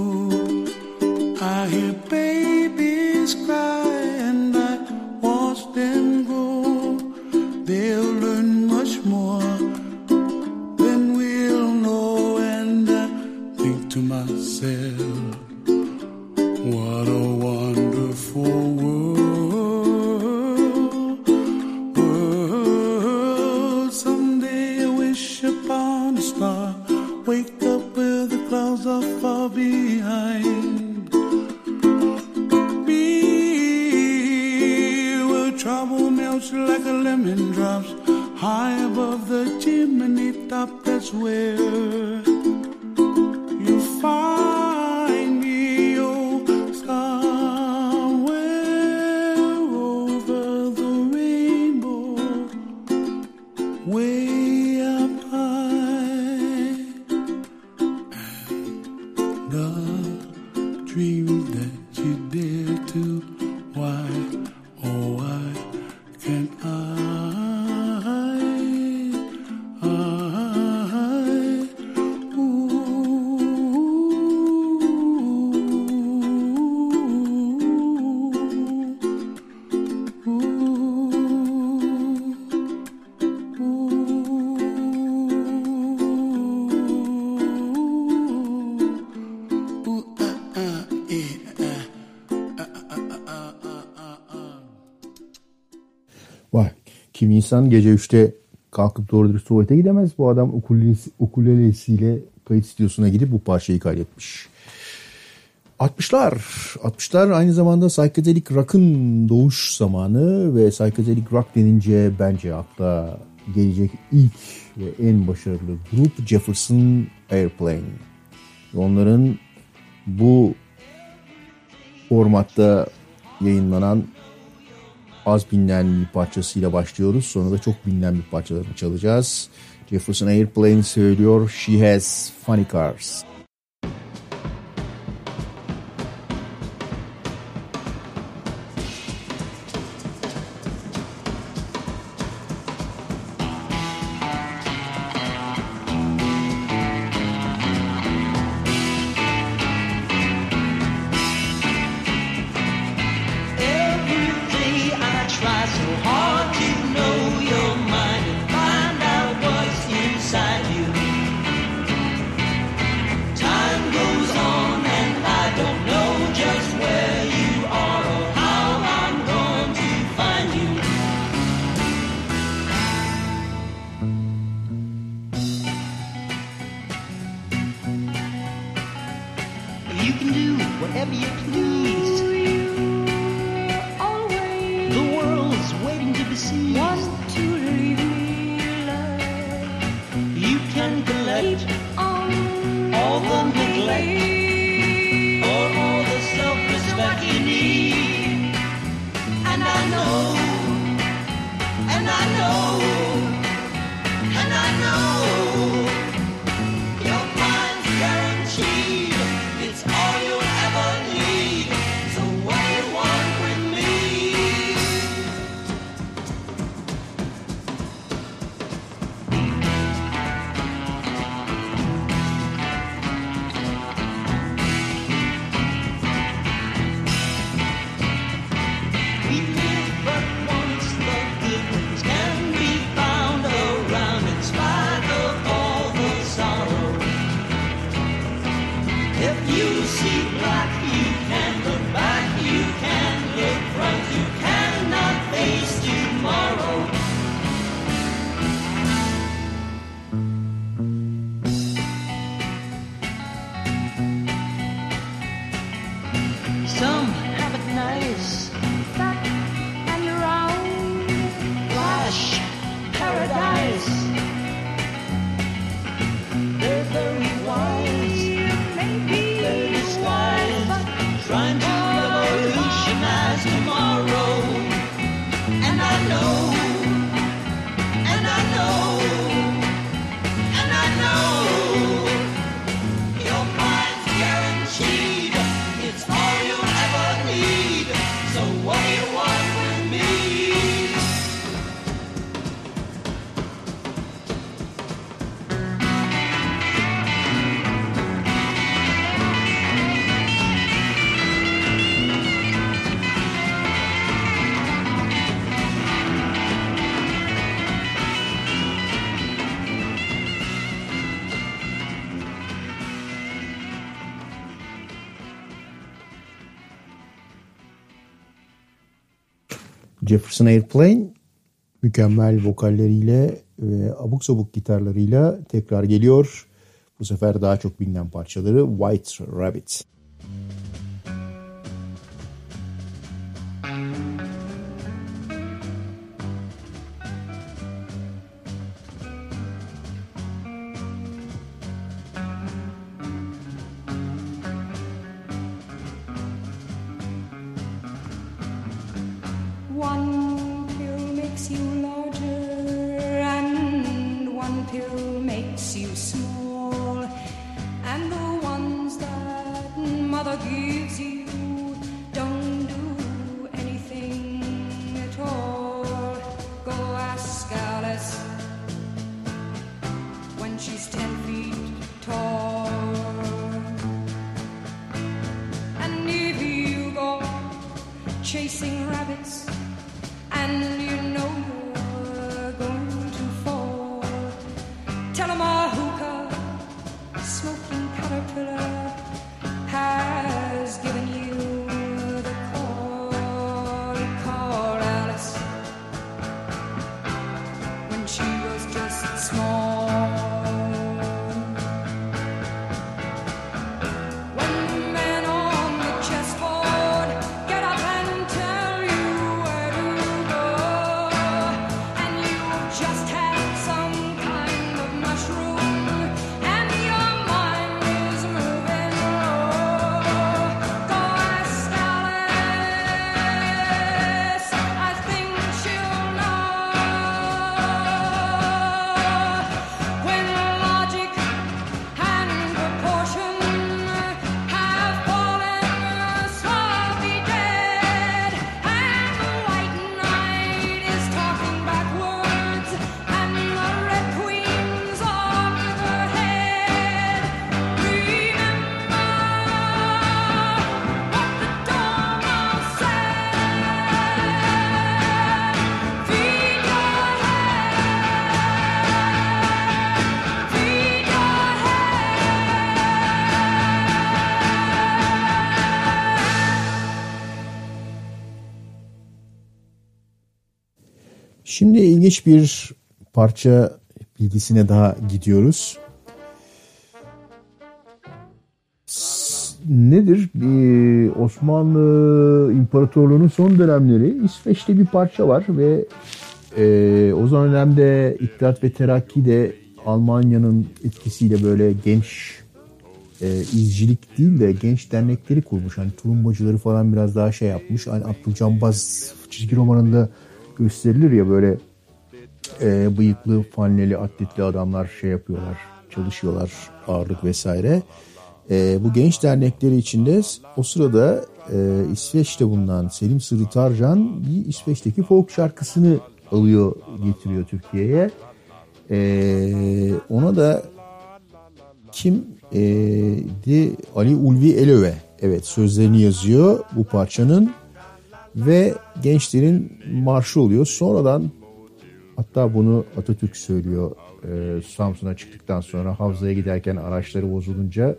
I hear babies cry and I watch them grow. They'll learn much more than we'll know. And I think to myself, what a wonderful world. Someday I wish upon a star, wake up where the clouds are far behind me, where trouble melts like a lemon drops high above the chimney top. That's where you find me, oh, somewhere over the rainbow, way up high. And the dreams that you dare to, why, oh, why can't I? Vay. Kimi insan gece 3'te kalkıp doğru dürüst tuvalete gidemez. Bu adam ukulelesiyle kayıt stüdyosuna gidip bu parçayı kaydetmiş. 60'lar aynı zamanda psychedelic rock'ın doğuş zamanı ve psychedelic rock denince bence akla gelecek ilk ve en başarılı grup Jefferson Airplane. Onların bu formatta yayınlanan az bilinen bir parçasıyla başlıyoruz. Sonra da çok bilinen bir parçalarını çalacağız. Jefferson Airplane söylüyor, She Has Funny Cars. It's all you'll ever need. Jefferson Airplane mükemmel vokalleriyle ve abuk sabuk gitarlarıyla tekrar geliyor. Bu sefer daha çok bilinen parçaları White Rabbit. One pill makes you larger and one pill makes you small, and the ones that mother gives you don't do anything at all. Go ask Alice when she's 10 feet tall. And if you go chasing rabbits and you know you're going to fall, tell 'em a hookah smoking caterpillar has given you the call. Call Alice when she was just small. When the men on the chessboard get up and tell you where to go, and you've just had some kind of mushroom and your mind is moving low, go ask Alice, I think she'll know. When logic and proportion have fallen slowly dead, and the white knight is talking backwards, and the red queen's off with her head, remember what the Dormouse said. Feed your head, feed your Şimdi ilginç bir parça bilgisine daha gidiyoruz. Nedir? Osmanlı İmparatorluğu'nun son dönemleri İsveç'te bir parça var ve o dönemde İttihat ve Terakki de Almanya'nın etkisiyle böyle genç izcilik değil de genç dernekleri kurmuş. Hani tulumbacıları falan biraz daha şey yapmış. Hani Abdülcambaz çizgi romanında gösterilir ya, böyle bıyıklı, faneli, atletli adamlar şey yapıyorlar, çalışıyorlar, ağırlık vesaire. Bu genç dernekleri içinde o sırada İsveç'te bulunan Selim Sırrı Tarcan bir İsveç'teki folk şarkısını alıyor, getiriyor Türkiye'ye. Ona da kimdi? Ali Ulvi Elöve. Evet, sözlerini yazıyor bu parçanın ve gençlerin marşı oluyor. Sonradan, hatta bunu Atatürk söylüyor Samsun'a çıktıktan sonra, Havza'ya giderken araçları bozulunca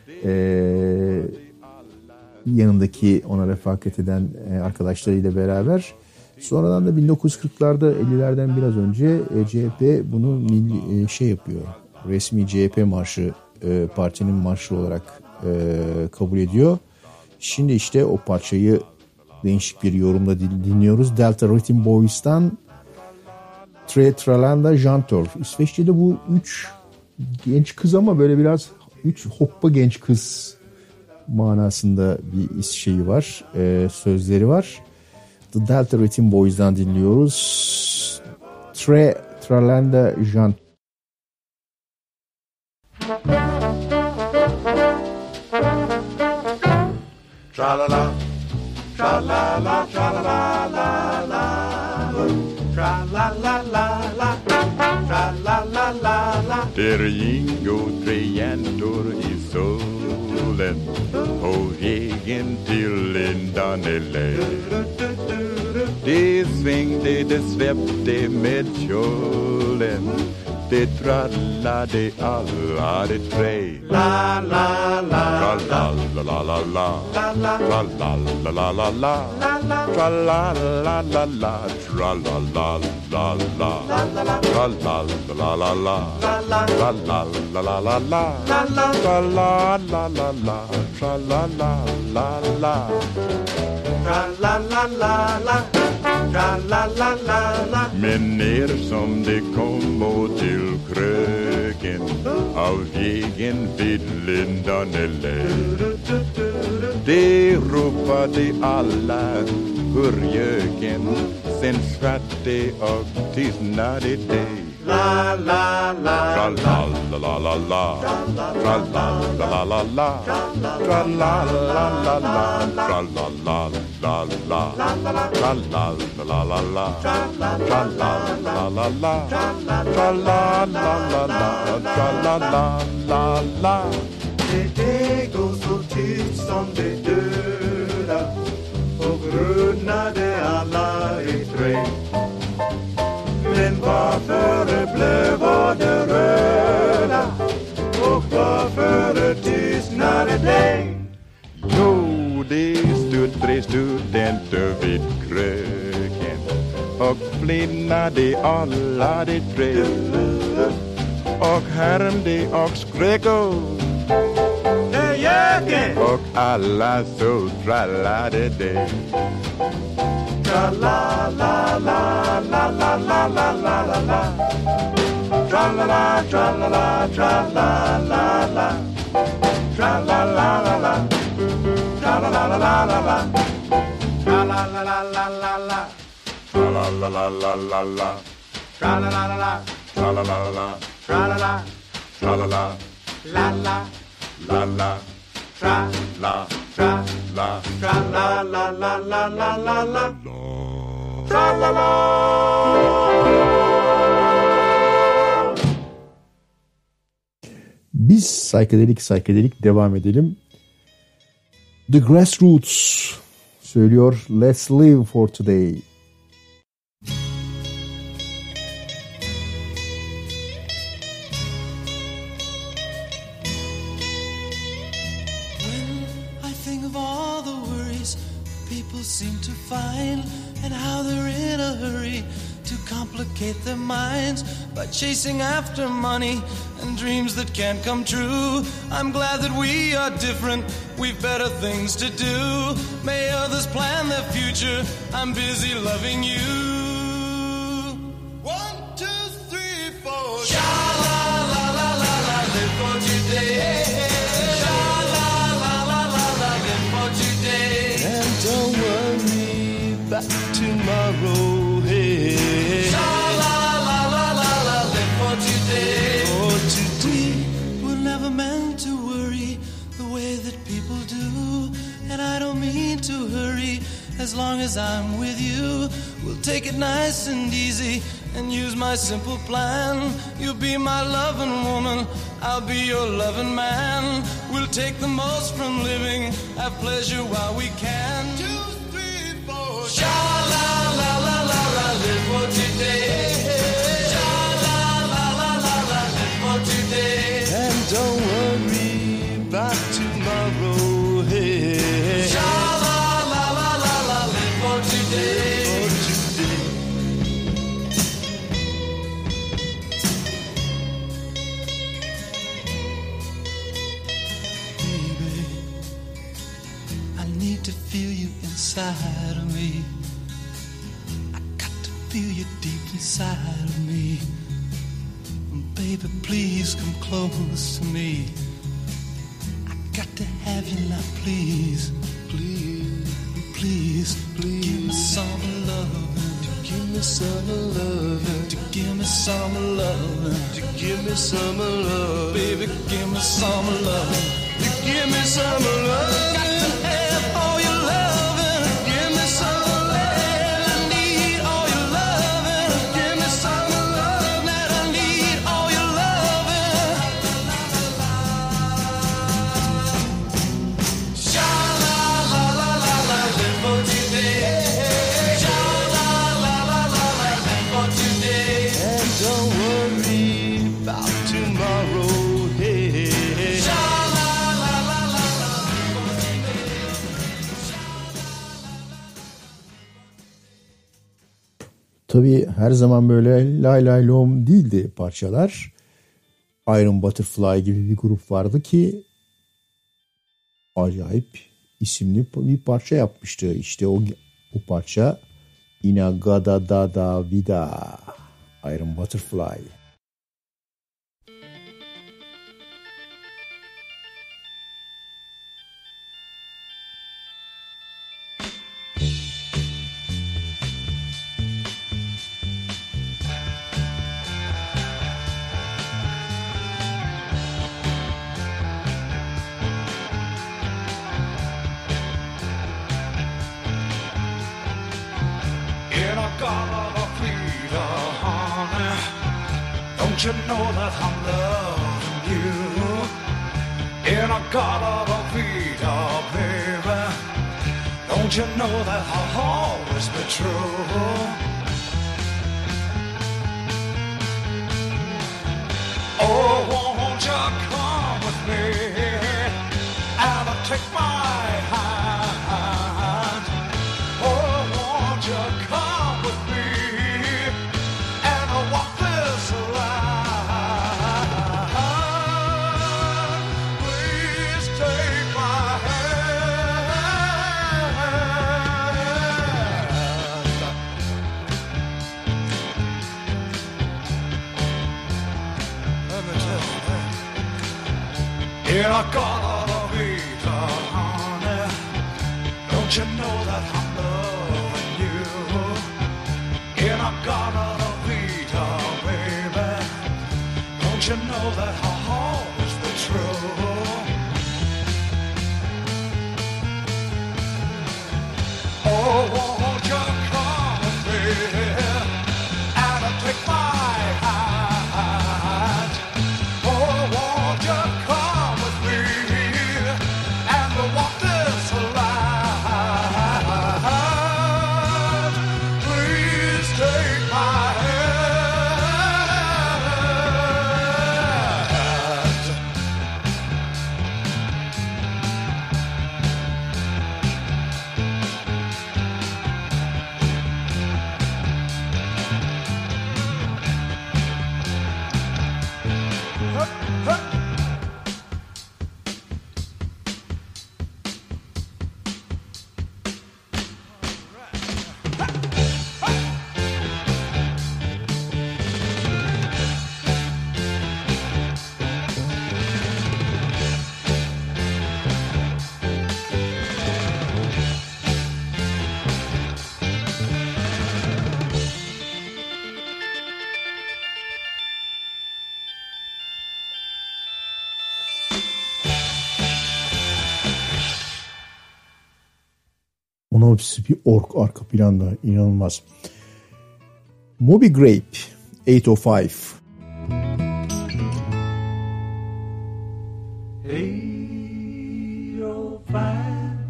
yanındaki ona refakat eden arkadaşlarıyla beraber. Sonradan da 1940'larda 50'lerden biraz önce CHP bunu şey yapıyor. Resmi CHP marşı, partinin marşı olarak kabul ediyor. Şimdi işte o parçayı değişik bir yorumda dinliyoruz. Delta Rhythm Boys'tan Tre Tralanda Jantor. İsveççe'de bu 3 genç kız ama böyle biraz 3 hoppa genç kız manasında bir şeyi var. Sözleri var. The Delta Rhythm Boys'dan dinliyoruz. Tre Tralanda Jantor. Tra-la-la, tra-la-la, tra-la-la-la-la, tra-la-la-la-la, tra-la-la-la-la. Där ingår 3 jäntor i solen på vägen till en Danelä. Det svängde, det svepte med kjolen. Det trallade alla de tre. La la la la la la la la la la la la la la la tra la la la la tra la la la la tra la la la la tra la la la la la tra la la la la tra la la la la tra la la la la tra la la la la. Men ner som det kom och till kröken av vägen vid Lindanelle. Det ropade alla hurjöken, sen svarte och tystnade det. La la la tra la la la la la tra la la la la la tra la la la la tra la la la la tra la la la la tra la la la la tra la la la la tra la la la la. Det går så tyst som det döda och runnade alla i trä. Men varför blev det röda och varför tystnade det? Jo, det stod tre studenter vid kröken och flinnade alla de tre och härmde och skrek och alla så trallade det. Tra la la la la la la la la la la. Tra la la tra la la tra la la la. Tra la la la la. Tra la la la la la. Tra la la la la la la. Tra la la la la la la. Tra la la la la. Tra la la la. Tra la la. Tra la la. La la. La la. Tra la. Tra la. Tra la la la la la la la. Tra la la. Biz psychedelic devam edelim. The Grassroots söylüyor Let's Live for Today. Seem to find and how they're in a hurry to complicate their minds by chasing after money and dreams that can't come true. I'm glad that we are different, we've better things to do. May others plan their future, I'm busy loving you. 1, 2, 3, 4. Sha la la la la la, live for today. Sha la la la la la, live for today. And don't worry about tomorrow. Hey. Sha la la la la la, live for today. For today, we're never meant to worry the way that people do. And I don't mean to hurry. As long as I'm with you, we'll take it nice and easy and use my simple plan. You'll be my loving woman, I'll be your loving man. We'll take the most from living, have pleasure while we can. 2, 3, 4. Sha la la la la la, live for today. Sha la la la la la, live for today. And don't worry about tomorrow. Hey. Sha la la la la la, live for today. Feel you inside of me. I got to feel you deep inside of me. Baby, please come close to me. I got to have you now, please. Please, please, please. Give me some love. To give me some love. To give me some love. To give me some love. Baby, give me some love. To give me some love. Got to have all your loving. Give me some love. I need all your loving. Give me some love. That I need all your loving. Sha la la la la la, live for today. Sha la worry about tomorrow. Hey. Tabii her zaman böyle lay lay lom değildi parçalar. Iron Butterfly gibi bir grup vardı ki acayip isimli bir parça yapmıştı. İşte o parça Inagada Dada Vida, Iron Butterfly. Don't you know that I'm loving you? In a Garden Vita, baby. Don't you know that I'll always be true? Oh, won't you come with me and take my hand? Oh, won't you come with me and walk this line? Please take my hand. Let me tell you that. In a Garden Vita, honey, don't you know that I'm loving you? In a Garden Vita, baby, don't you know that I'll always be true? Oh, won't you come with me and take my hand? Oh, won't you come with me and walk this line? Please take my hand. Ona hepsi bir ork arka planda, inanılmaz. Moby Grape 805. Hey, oh, fine.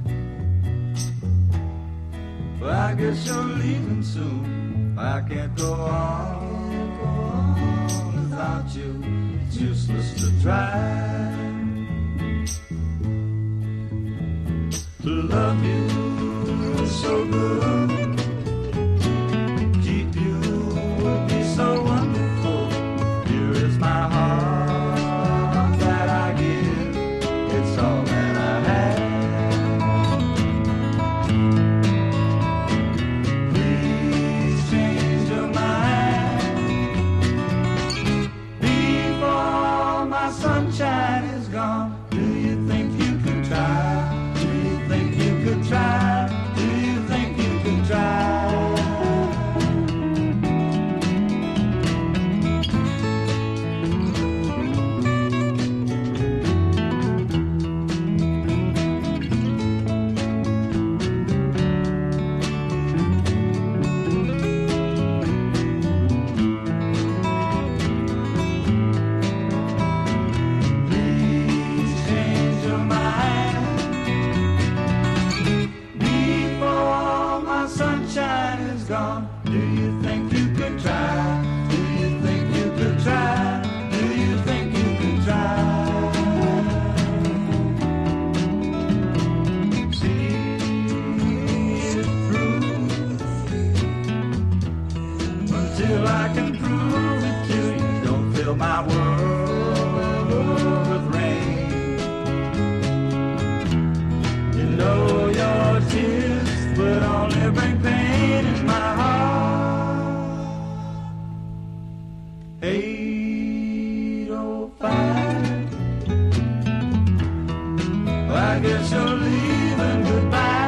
Well, I guess you're leaving soon. I can't go on without you. It's useless to try to love you so good. Keep you would be so wonderful. Here is my heart that I give. It's all that I have. Please change your mind before my sunshine is gone. Do you think you could try? Do you think you could try? Do you think you could my world with rain. You know your tears would only bring pain in my heart. 805, I guess you're leaving goodbye.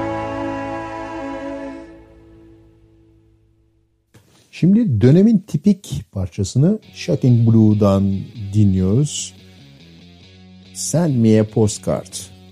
Şimdi dönemin tipik parçasını Shocking Blue'dan dinliyoruz. Send Me a Postcard.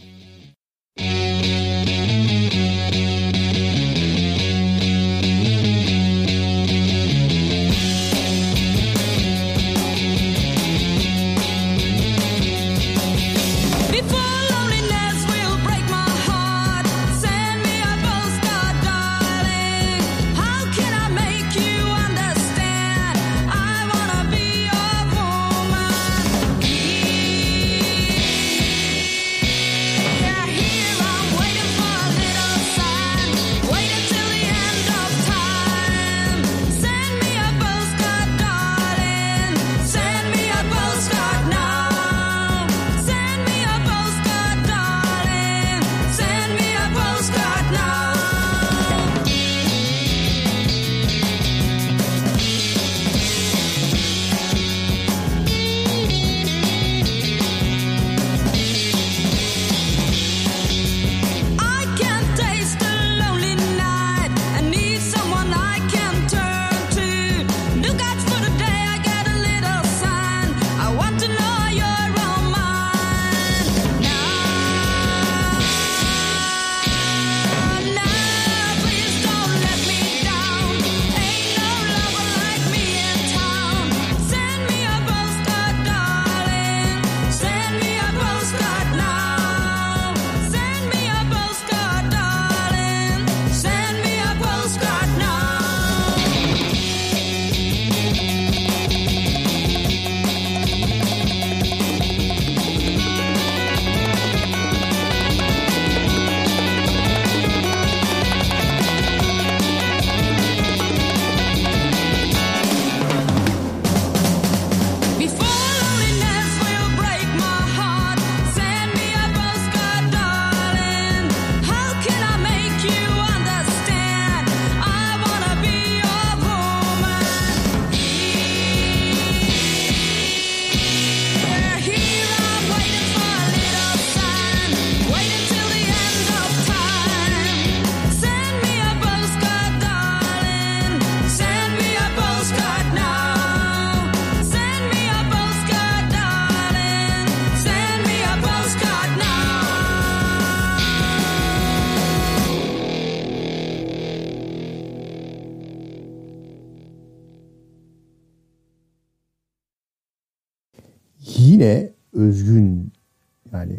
Yine özgün, yani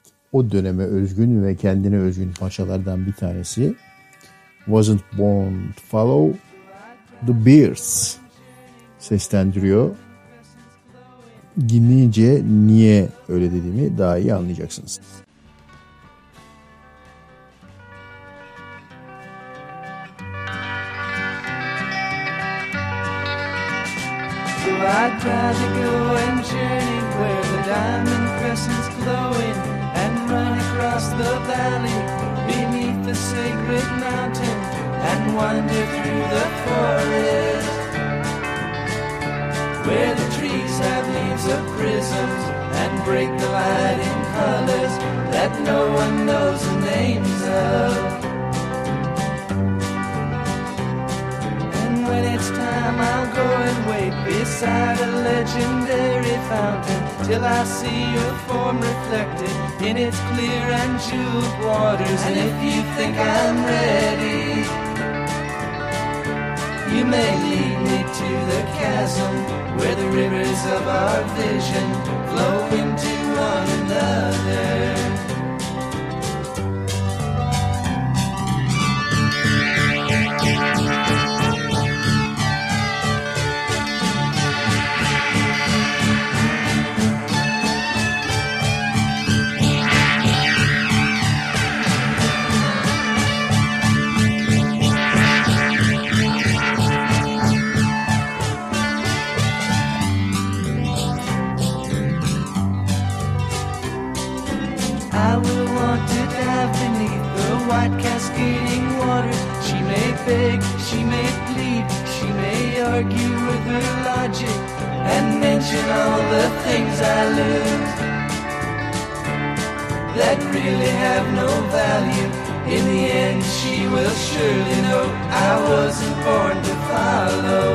o döneme özgün ve kendine özgün parçalardan bir tanesi Wasn't Born to Follow. The Bears seslendiriyor. Dinleyince niye öyle dediğimi daha iyi anlayacaksınız. So I try to go and journey where the diamond crescent's glowing and run across the valley beneath the sacred mountain and wander through the forest where the trees have leaves of prisms and break the light in colors that no one knows the names of. When it's time, I'll go and wait beside a legendary fountain till I see your form reflected in its clear and jeweled waters. And if you think I'm ready, you may lead me to the chasm where the rivers of our vision flow into one another. argue with her logic and mention all the things I lose that really have no value. In the end she will surely know I wasn't born to follow.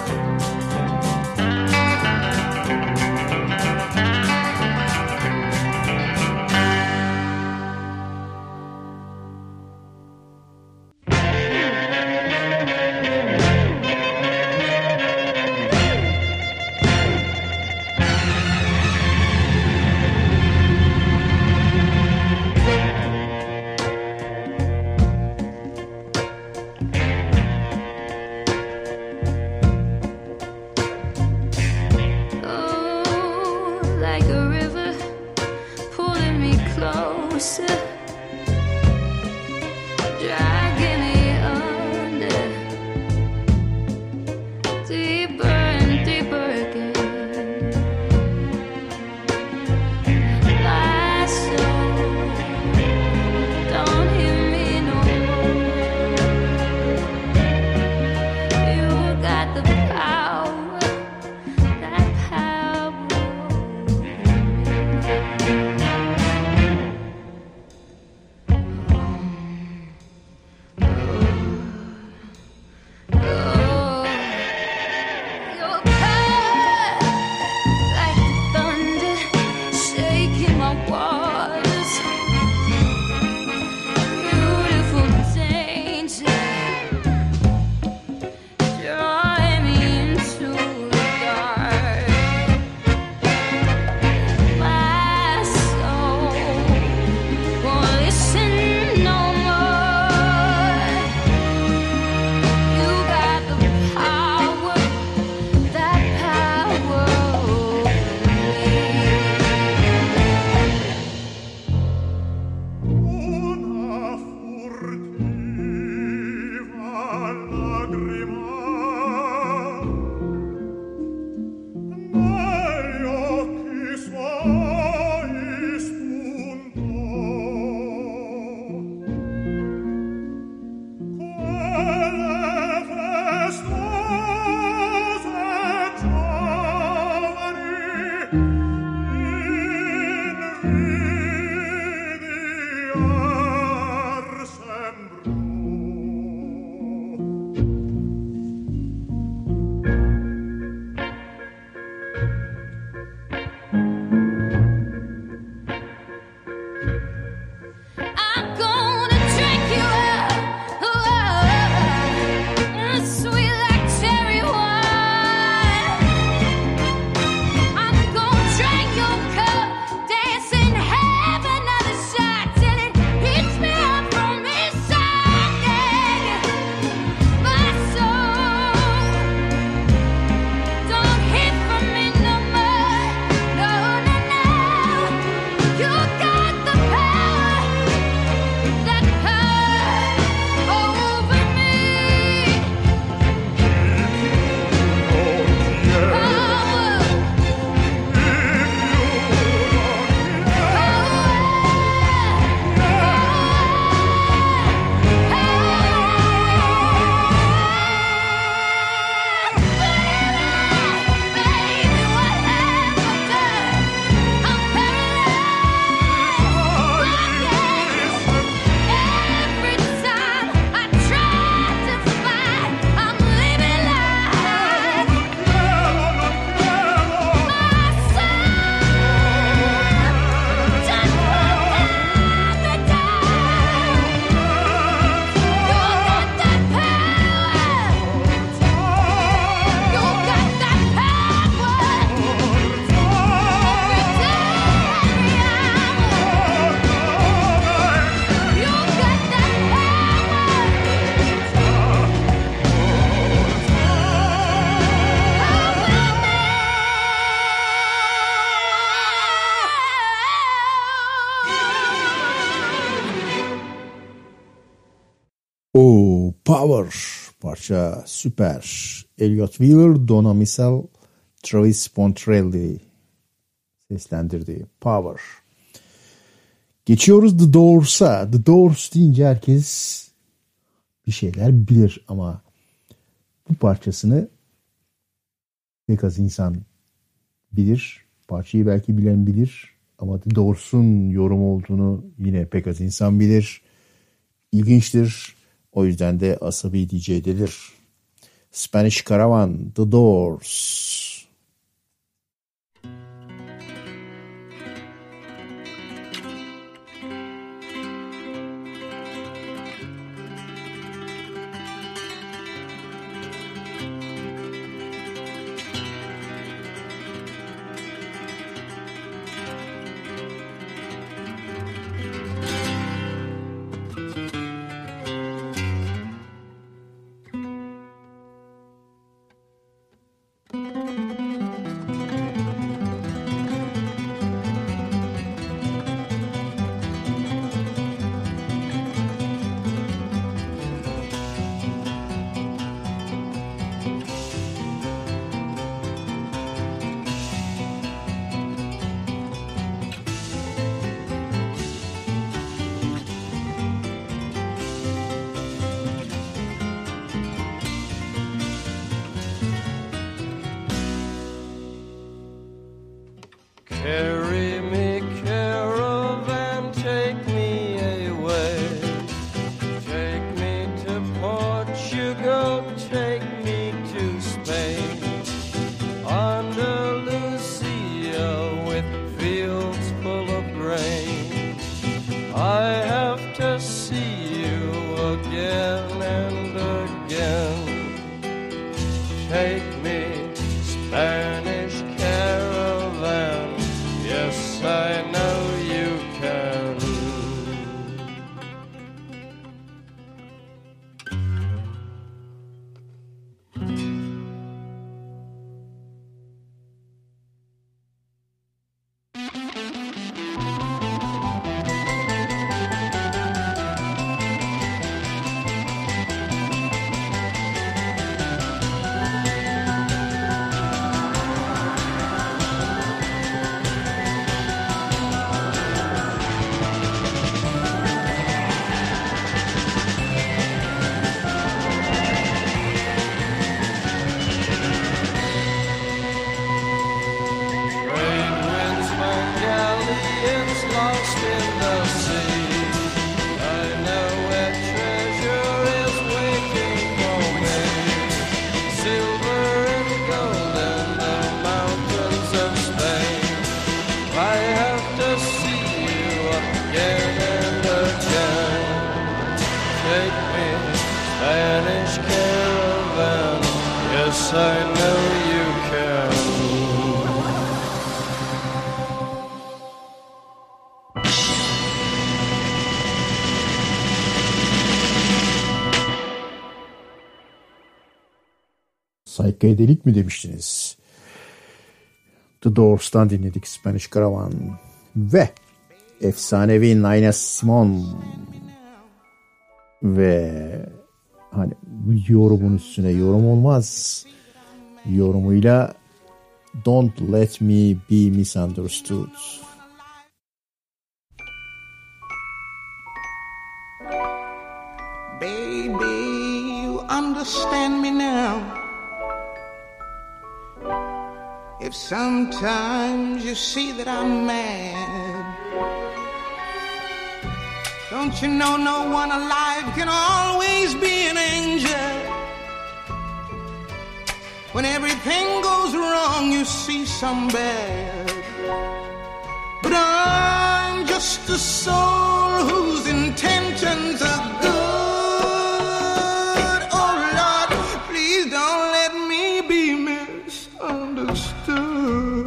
O Power parça süper. Elliot Wheeler, Donna Missel, Travis Pontrelli seslendirdiği Power. Geçiyoruz The Doors'a. The Doors deyince herkes bir şeyler bilir ama bu parçasını Pek az insan bilir. Parçayı belki bilen bilir. Ama The Doors'un yorum olduğunu yine pek az insan bilir. İlginçtir. O yüzden de asabi DJ'dedir. Spanish Caravan, The Doors. Carry me, caravan, take me away. Take me to Portugal, take me to Spain. Andalusia with fields full of grain. I have to see you again and again. Take me, Spanish caravan. Yes, I know you can. Lost in the sea, I know where treasure is waiting for me. Silver and gold in the mountains of Spain. I have to see you again and again. Take me, Spanish caravan. Yes, I know you can. Psychedelic mi demiştiniz? The Doors'tan dinledik Spanish Caravan ve efsanevi Nina Simone ve hani bu yorumun üstüne yorum olmaz yorumuyla Don't Let Me Be Misunderstood. Baby, you understand me now. If sometimes you see that I'm mad, don't you know no one alive can always be an angel? When everything goes wrong, you see some bad. But I'm just a soul whose intentions are good. Oh Lord, please don't let me be misunderstood.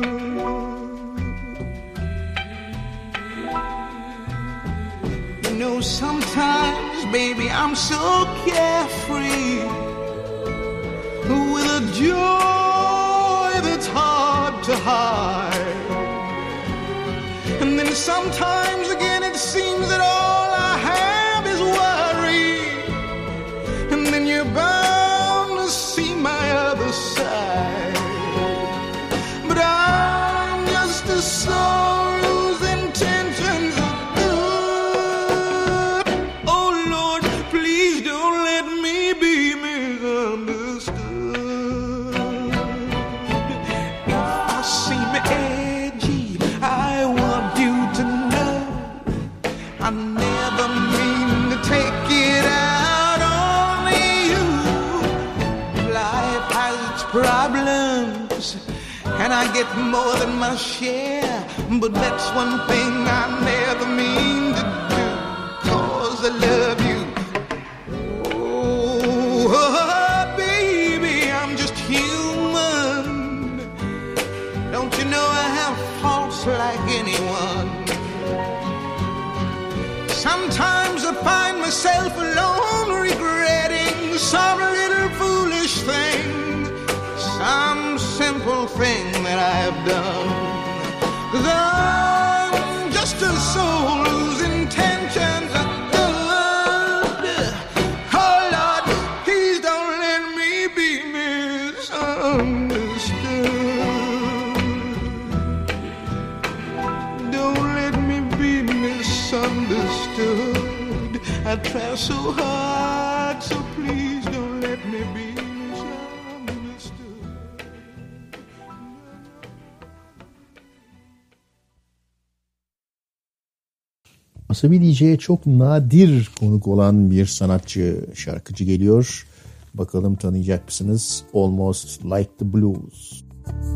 You know, sometimes, baby, I'm so carefree, with a joy that's hard to hide. And then sometimes again it seems that all I have is worry. And then you're bound to see my other side. But I'm just a soul whose intentions are good. Oh Lord, please don't let me be misunderstood. and I get more than my share. But that's one thing I never mean to do, 'cause I love you. Oh, baby, I'm just human. Don't you know I have faults like anyone? Sometimes I find myself alone regretting some little foolish thing, some simple thing that I've done. 'Cause I'm just a soul whose intentions are good. Oh Lord, please don't let me be misunderstood. Don't let me be misunderstood. I try so hard, so please don't let me be misunderstood. Asabi DJ'ye çok nadir konuk olan bir sanatçı, şarkıcı geliyor. Bakalım tanıyacak mısınız? Almost Like the Blues.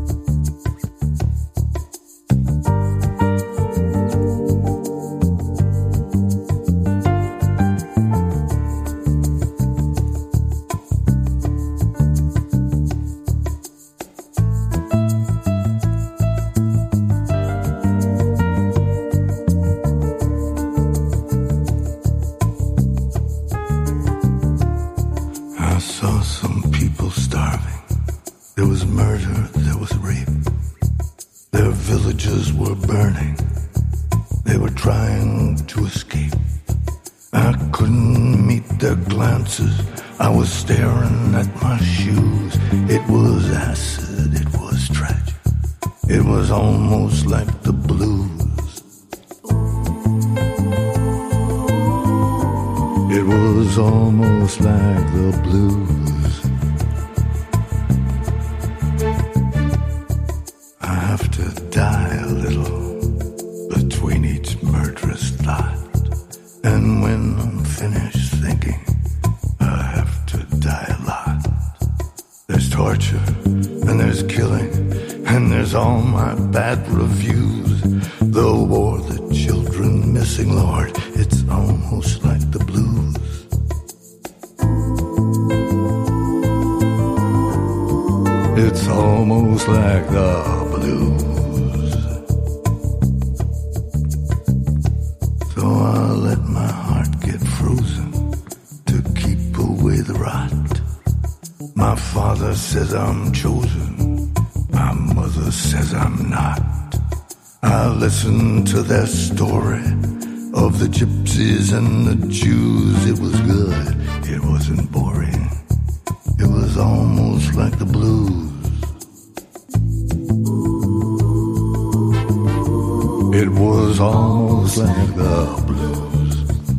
I saw some people starving. There was murder, there was rape. Their villages were burning. They were trying to escape. I couldn't meet their glances. I was staring at my shoes. It was acid, it was tragic. It was almost like the blues. It was almost like the blues. I have to die a little between each murderous thought. And when I'm finished thinking, I have to die a lot. There's torture, and there's killing, and there's all my bad reviews. The war, the children missing, Lord, it's almost like the blues. It's almost like the blues. So I let my heart get frozen to keep away the rot. My father says I'm chosen. My mother says I'm not. I listen to their story of the gypsies and the Jews. It was good, it wasn't boring. It was almost like the blues. It was almost like the blues.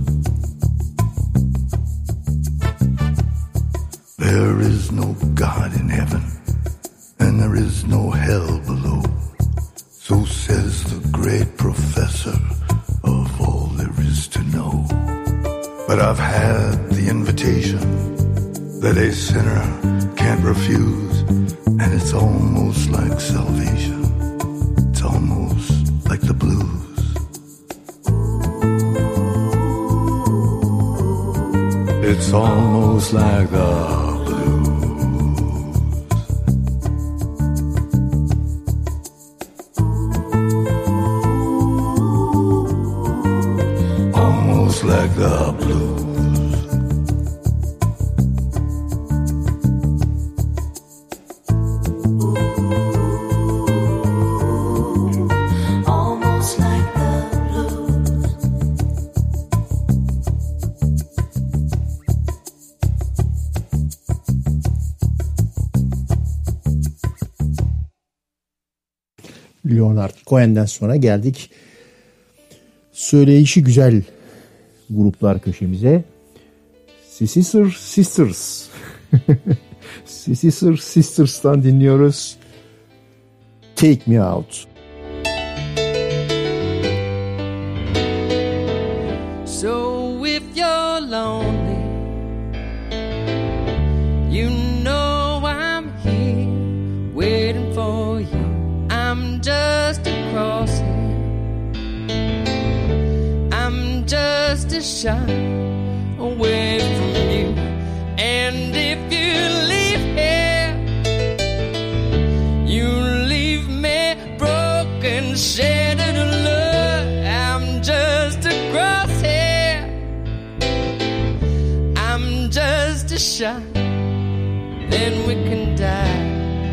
There is no God in heaven, and there is no hell below. So says the great professor of all there is to know. But I've had the invitation that a sinner can't refuse, and it's almost like salvation. It's almost like the blues. It's almost like the almost like the blues. Almost like the blues. Leonard Cohen'den sonra geldik söyleyişi güzel gruplar köşemize. Sister Sisters. Sister Sisters'tan dinliyoruz. Take Me Out. So if you're lonely, you know I'm here waiting for you. to shine away from you. And if you leave here, you leave me broken, shattered alone. I'm just a crosshair, I'm just a shot, then we can die.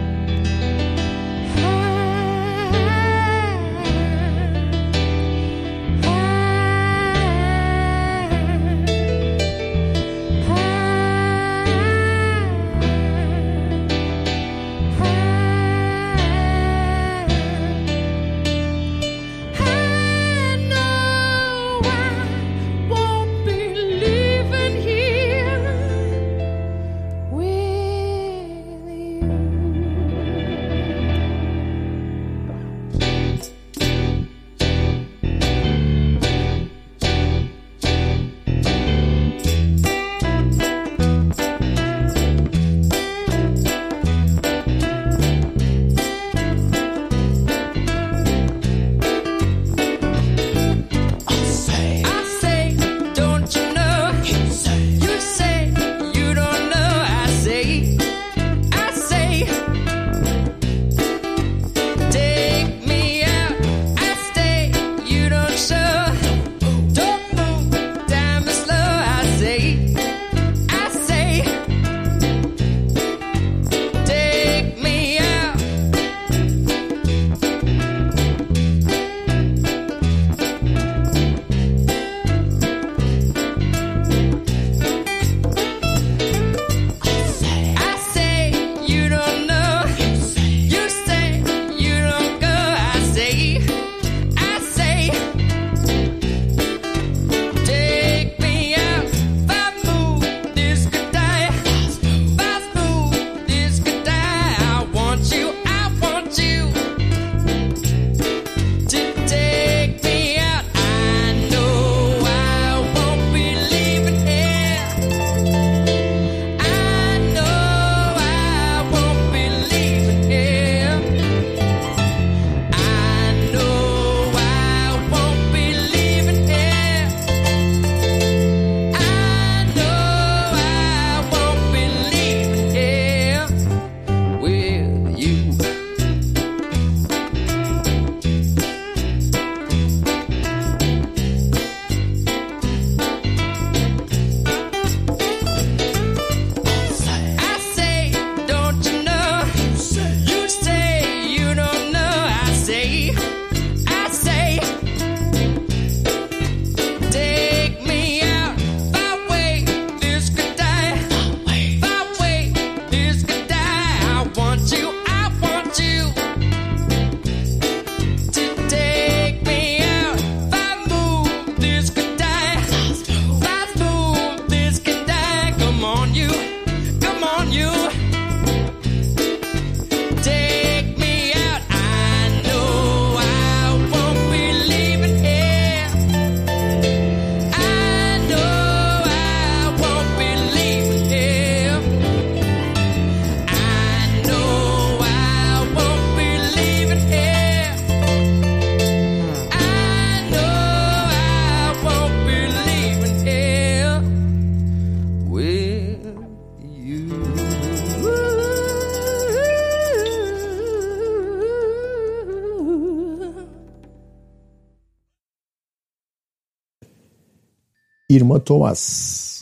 Irma Thomas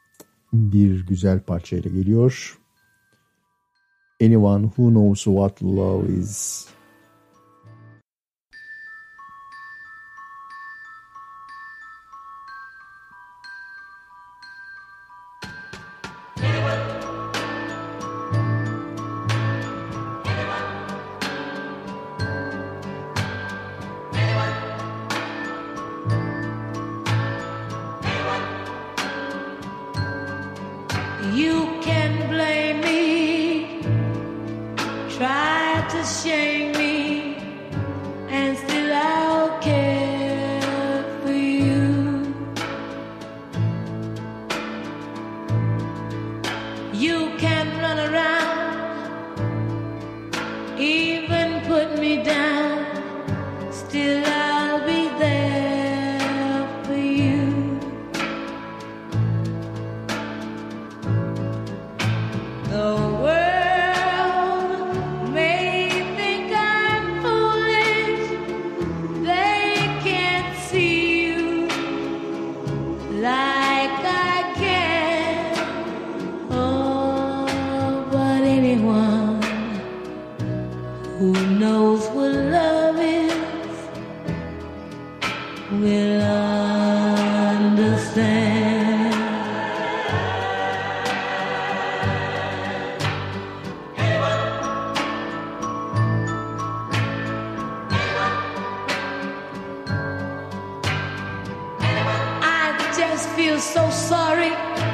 bir güzel parçayla geliyor. Anyone Who Knows What Love Is. You can blame me, try to shame what love is will understand. I just feel so sorry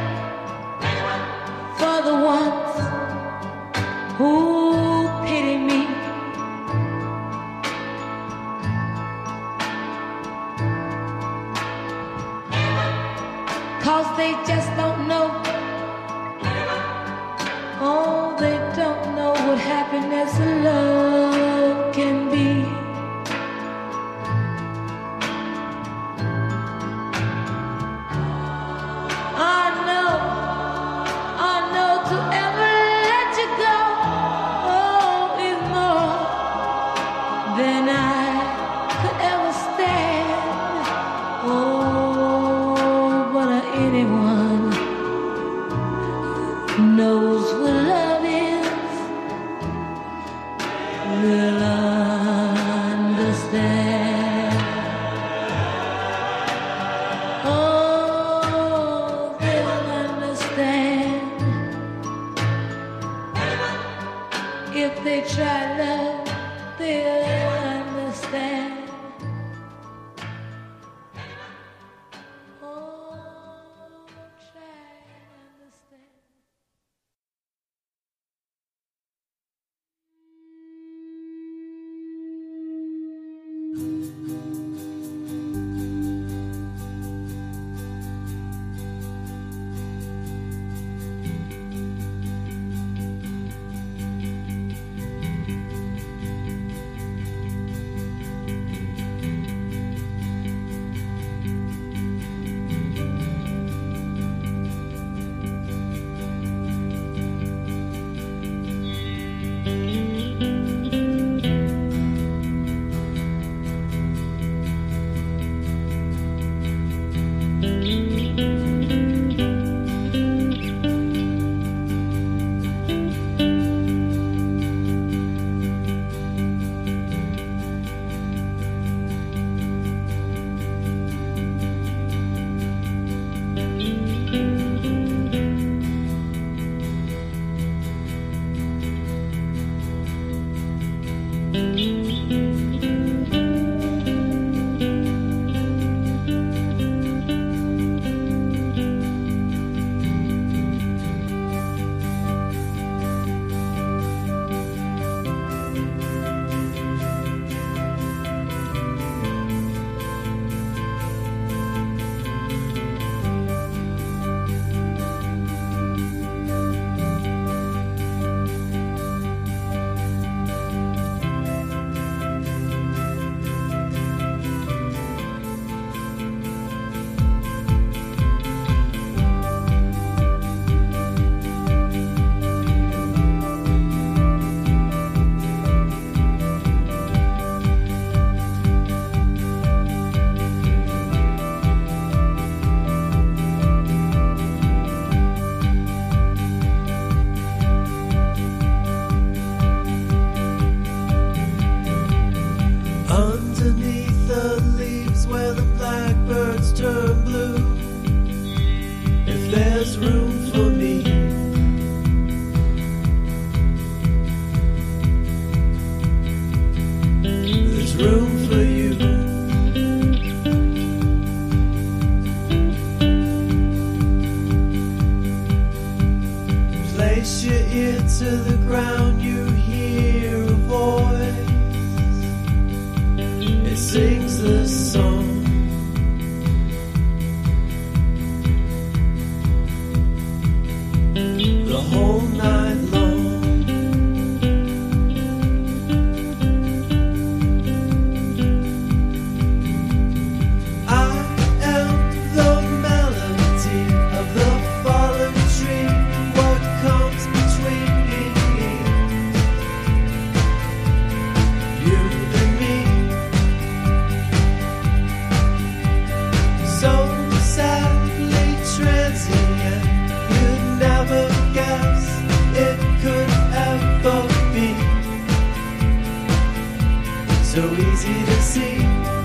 for the ones who pity me. Cause they just don't know. Oh, they don't know what happiness and love can be. I know to ever let you go, oh, is more than I could ever stand. Oh, but anyone knows what love is will understand. Oh, they'll understand if they try love. They'll understand. so easy to see.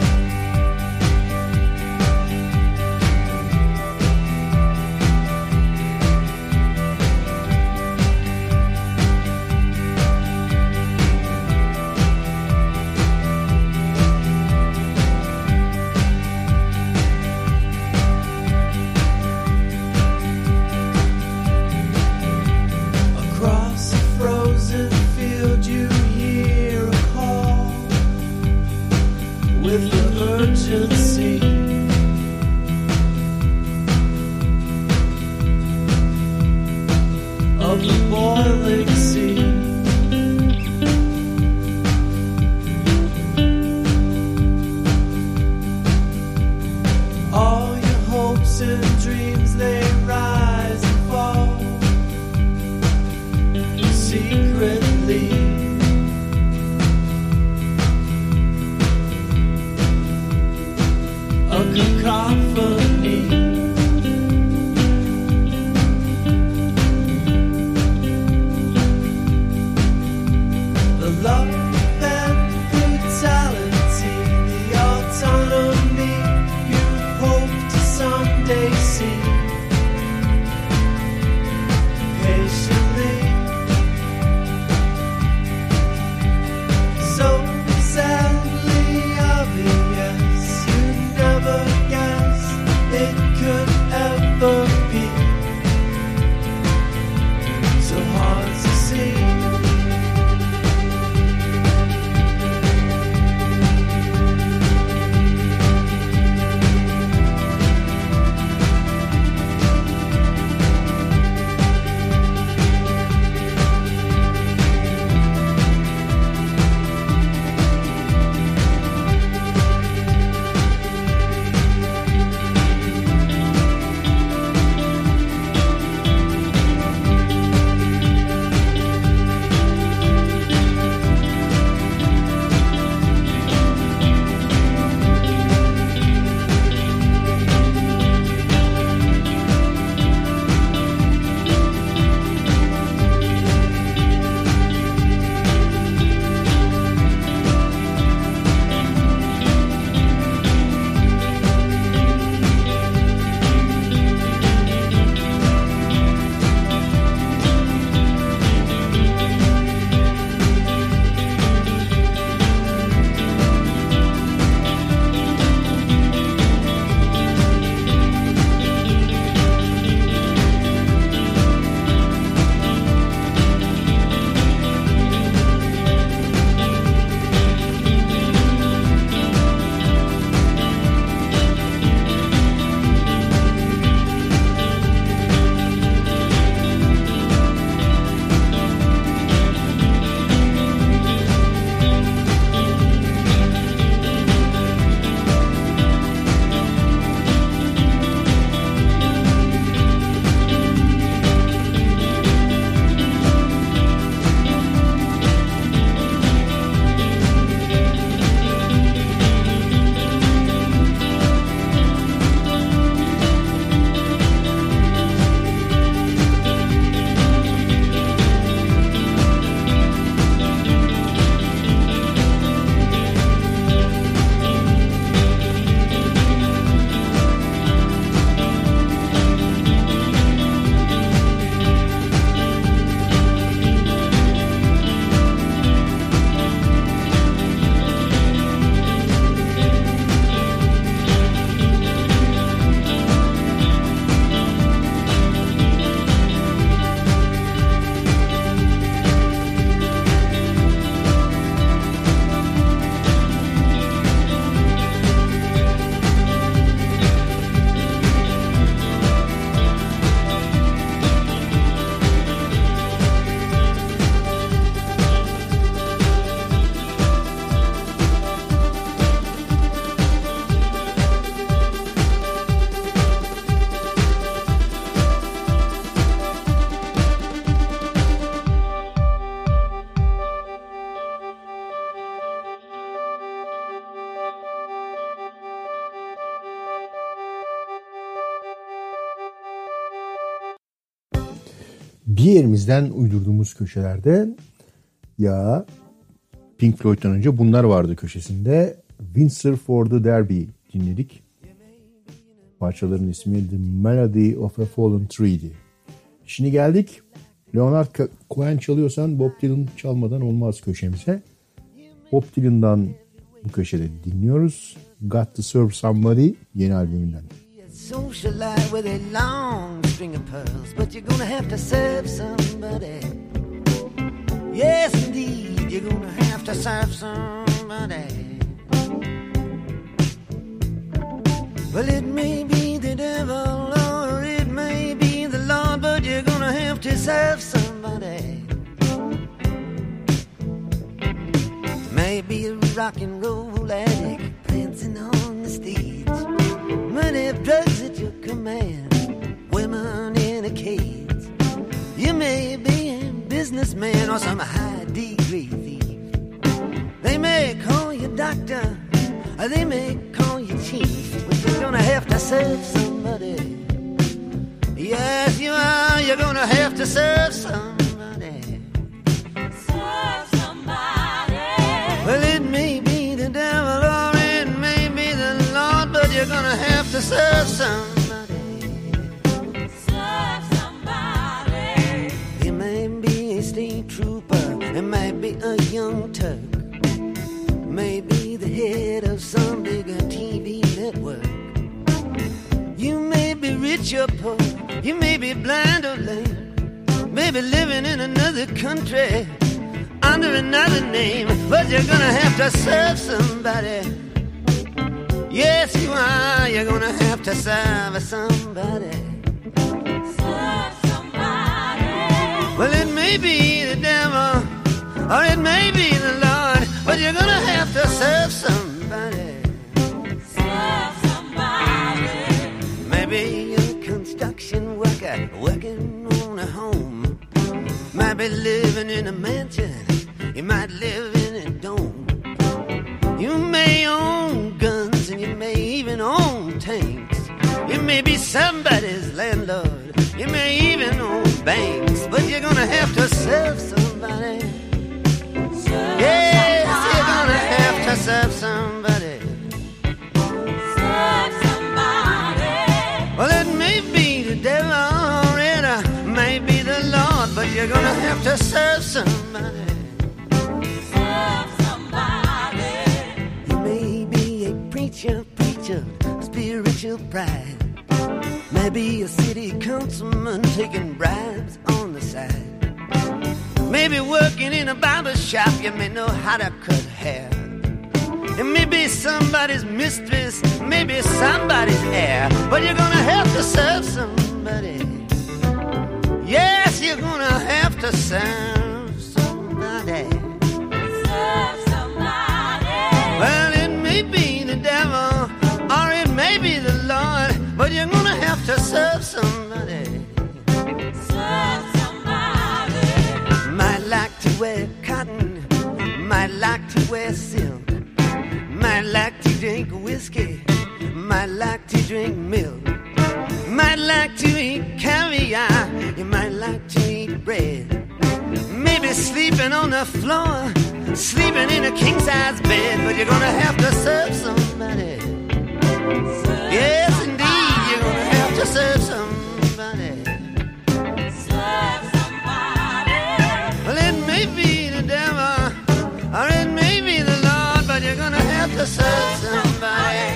Across a frozen field you hear a call with the urgency of the boiling sea. All your hopes and dreams, they rise and fall secretly. A cacophony. The love and brutality, the autonomy you hope to someday see. Patiently, so sadly obvious, you never guessed it could ever be so hard to see. bir yerimizden uydurduğumuz köşelerde ya Pink Floyd'dan önce bunlar vardı köşesinde. Windsor for the Derby dinledik. Parçaların ismi The Melody of a Fallen Tree'di. Şimdi geldik. Leonard Cohen çalıyorsan Bob Dylan çalmadan olmaz köşemize. Bob Dylan'dan bu köşede dinliyoruz. Got to Serve Somebody yeni albümünden. Socialite with a long string of pearls, but you're gonna have to serve somebody. Yes, indeed, you're gonna have to serve somebody. Well, it may be the devil or it may be the Lord, but you're gonna have to serve somebody. Maybe a rock and roll addict prancing on the stage, money of drugs at your command, women in a cage. You may be a businessman or some high degree thief. They may call you doctor, or they may call you chief, but you're gonna have to serve somebody. Yes, you are. You're gonna have to serve somebody. Serve somebody. Well, it may be the devil or it may be the Lord, but you're gonna have to serve somebody. Serve somebody. It may be a state trooper, it may be a young Turk, maybe the head of some bigger TV network. You may be rich or poor, you may be blind or lame, maybe living in another country under another name, but you're gonna have to serve somebody. Yes, you are. You're gonna have to serve somebody. Serve somebody. Well, it may be the devil or it may be the Lord, but you're gonna have to serve somebody. Serve somebody. Maybe you're a construction worker working on a home. Might be living in a mansion, you might live in a dome. You may own guns and you may even own tanks. You may be somebody's landlord, you may even own banks, but you're gonna have to serve somebody. Yes, you're gonna have to serve somebody. Serve somebody. Well, it may be the devil or it may be the Lord, but you're gonna have to serve somebody. Serve somebody. You may be a preacher, spiritual pride. Maybe a city councilman taking bribes on the side. Maybe working in a barber shop, you may know how to cut hair. It may be somebody's mistress, maybe somebody's heir, but you're gonna have to serve somebody. Yes, you're gonna have to serve somebody. Serve somebody. Well, it may be the devil or it may be the Lord, but you're gonna have to serve somebody. Serve somebody. Might like to wear cotton, might like to wear silk, might like to drink whiskey, might like to drink milk, might like to eat caviar, you might like to eat bread. Maybe sleeping on the floor, sleeping in a king-size bed, but you're gonna have to serve somebody. Yes, indeed, you're gonna have to serve somebody. Serve somebody. Well, it may be the devil or it may be the Lord, but you're gonna have to serve somebody.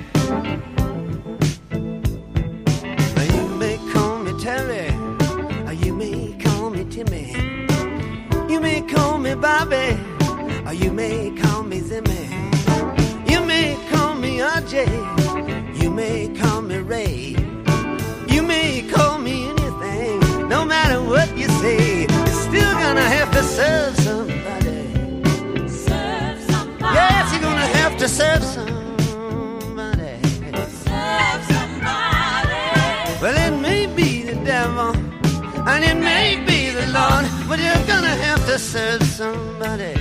Now, you may call me Terry, or you may call me Timmy. You may call me Bobby, or you may call me Zimmy. You may call me RJ, you may call me Ray. You may call me anything, no matter what you say, you're still gonna have to serve somebody. Serve somebody. Yes, you're gonna have to serve somebody. Serve somebody. Well, it may be the devil and it may be the Lord, but you're gonna have to serve somebody.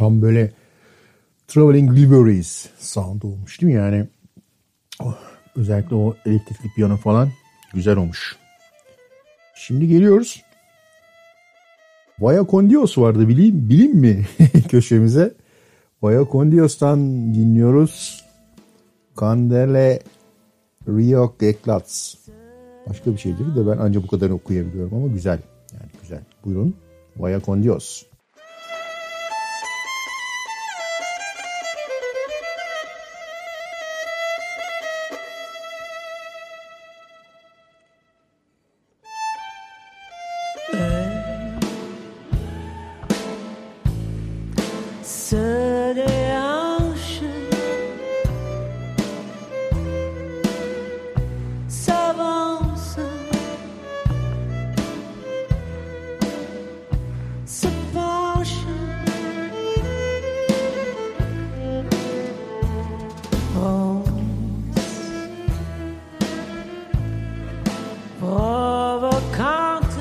Tam böyle Traveling Wilburys sound olmuş değil mi? Yani özellikle o elektrikli piyano falan güzel olmuş. Şimdi geliyoruz. Vaya con Dios vardı bileyim mi köşemize? Vaya con Dios'tan dinliyoruz. Candele Rio Eclats. Başka bir şeydir de ben ancak bu kadar okuyabiliyorum ama güzel. Yani güzel. Buyurun. Vaya con Dios. Se déhanche, s'avance, se penche, rose, provocante,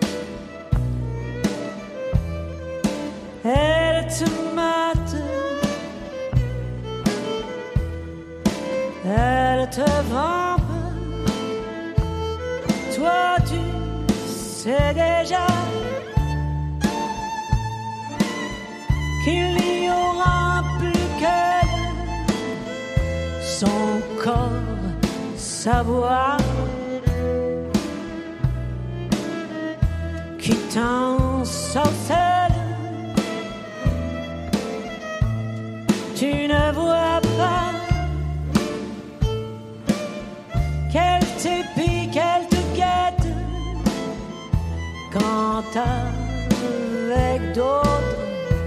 elle te mate, elle te vampe, toi tu sais déjà qu'il n'y aura plus qu'elle, son corps, sa voix qui t'ensorcelle. Tu ne vois pas qu'elle t'épie, qu'elle te guette quand avec d'autres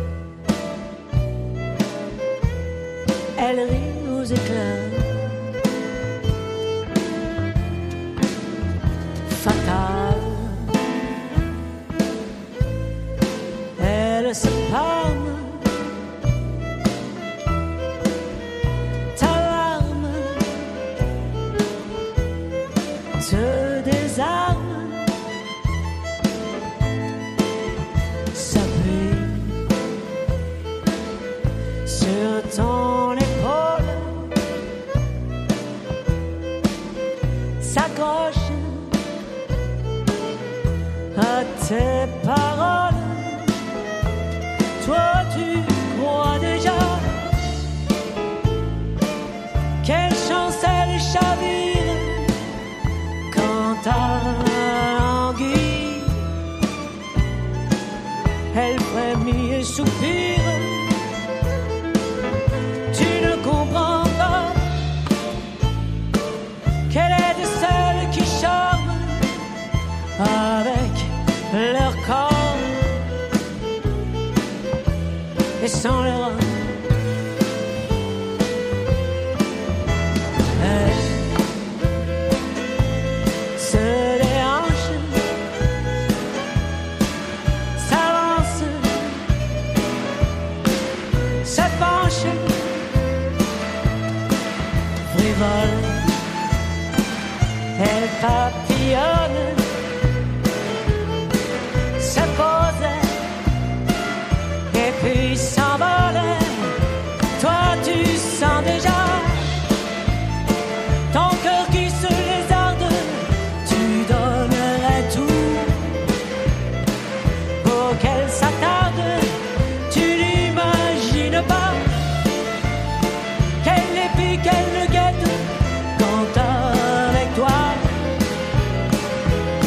elle rit aux éclats. Fatale, elle se palme. Se désarme, s'appuie sur ton épaule, s'accroche à tes paroles. Toi tu crois déjà quelle chance elle chavire ta languille, elle frémit et soupire. Tu ne comprends pas qu'elle est de celles qui charment avec leur corps et sans leur âme. Elle papillonne, se pose et puis s'envole. Toi tu sens déjà ton cœur qui se lézarde. Tu donnerais tout pour qu'elle s'attarde. Tu n'imagines pas qu'elle l'épie, qu'elle le guette quand avec toi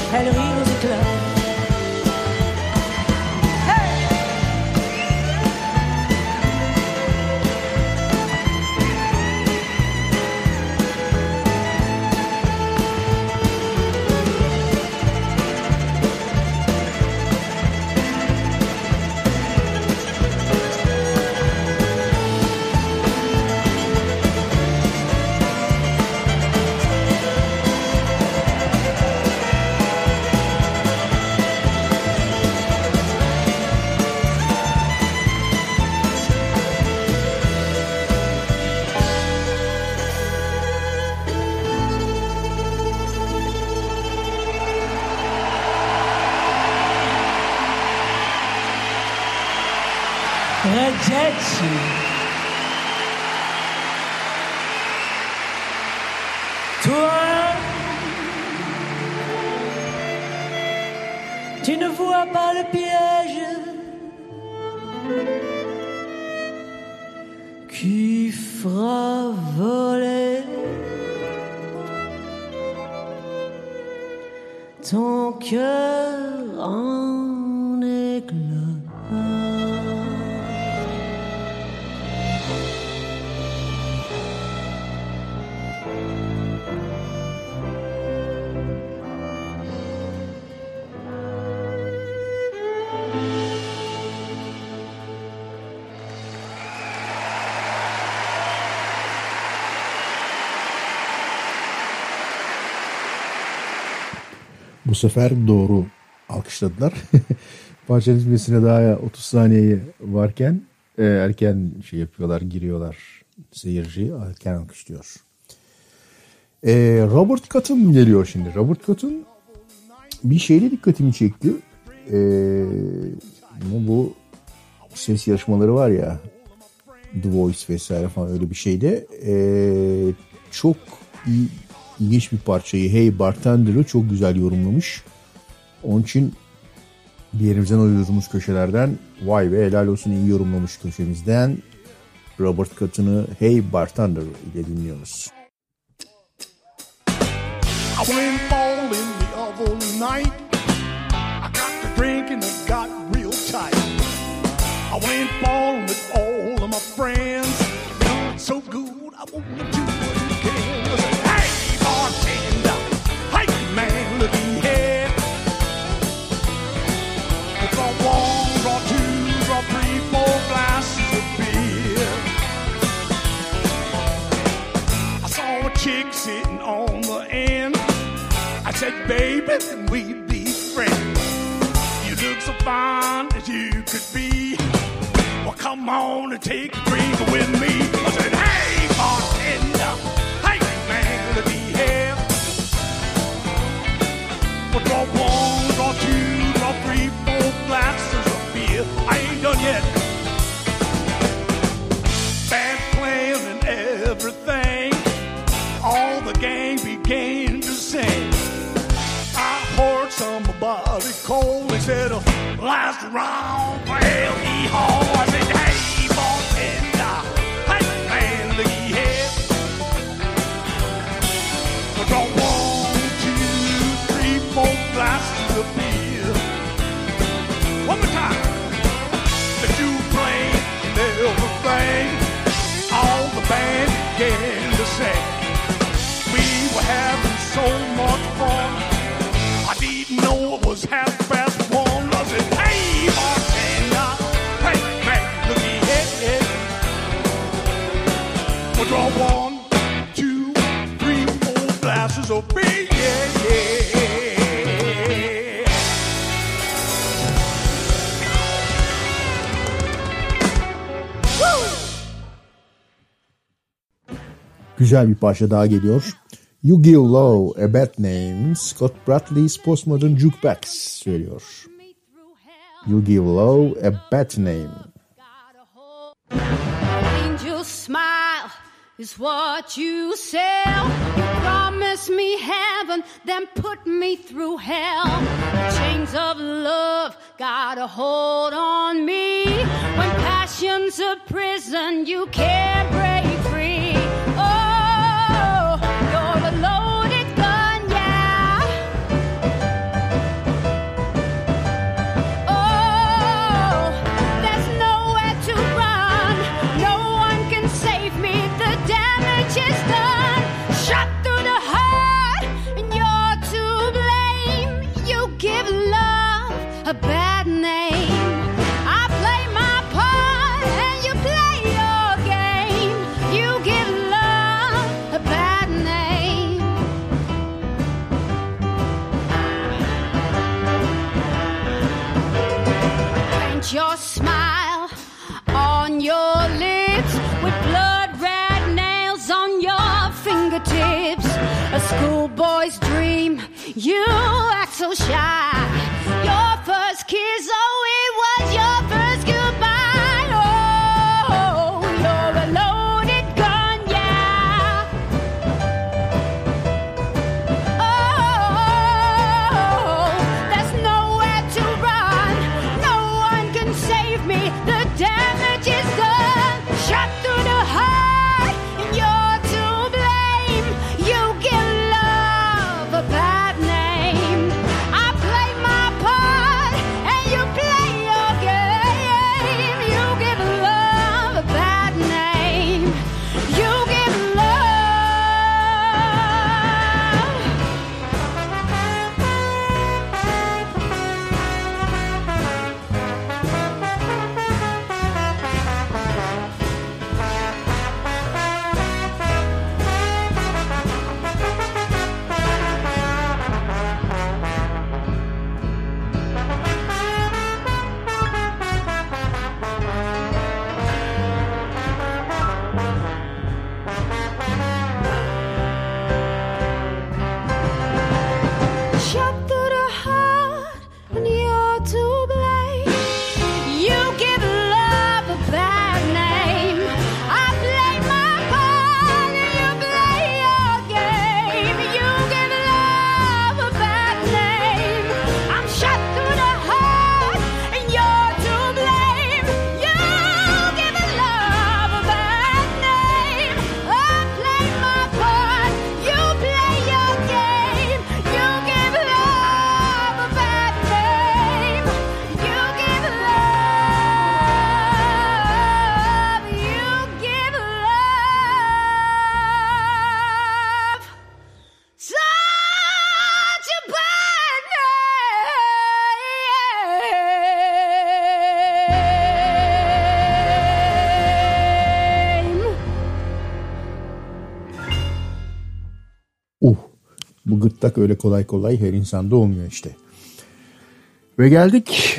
têtu. Toi, tu ne vois pas le piège qui fera voler ton cœur en éclats. Bu sefer doğru alkışladılar. Parçanın bitmesine daha 30 saniye varken erken şey yapıyorlar, giriyorlar seyirci, erken alkışlıyor. Robert Cotton geliyor şimdi. Robert Cotton bir şeyle dikkatimi çekti. Bu ses yarışmaları var ya, The Voice vesaire falan, öyle bir şeyde çok ilginç bir parçayı, Hey Bartender'ı çok güzel yorumlamış. Onun için bir yerimizden uyduğumuz köşelerden vay be helal olsun iyi yorumlamış köşemizden Robert Cotton'ı Hey Bartender ile dinliyoruz. I went bowling the other night. I got to drinking and got real tight. I went bowling with all of my friends. Feeling so good, I wanna do it again. I said, hey bartender, hey man, look here. Draw one, draw two, draw three, four glasses of beer. I saw a chick sitting on the end. I said, baby, can we be friends? You look so fine as you could be. Well, come on and take a drink with me. I said, hey, bartender, hey, man, let me here. Well, draw one, draw two, draw three, four glasses of beer. I ain't done yet. Band playing and everything. All the gang began to sing. Poured somebody cold. They said, last round, well, hee-haw. I said, hey, bartender, hey, man, look here. We'll draw one, two, three, four glasses of beer. One more time. The two playing and everything. All the band began to sing. We were having so much fun. I didn't know it was 1:30. I said, hey, bartender, hey, man, look here. We'll draw one, two, three, four glasses of beer, yeah. Woo! Güzel bir parça daha geliyor. You Give Love a Bad Name, Scott Bradley's Postmodern Jukebox söylüyor. You Give Love a Bad Name. Angel smile is what you sell. You promise me heaven, then put me through hell. The chains of love got a hold on me. When passion's a prison, you can't break free. Oh, you're a loaded gun, yeah. Oh, there's nowhere to run. No one can save me. The damage is done. Shot through the heart, and you're to blame. You give love a bad name. I play my part, and you play your game. You give love a bad name. Paint your smile on your lips with blood red nails on your fingertips. A schoolboy's dream, you act so shy. Your first kiss, oh, it was your first goodbye. Oh, Bu gırtlak öyle kolay kolay her insanda olmuyor işte. Ve geldik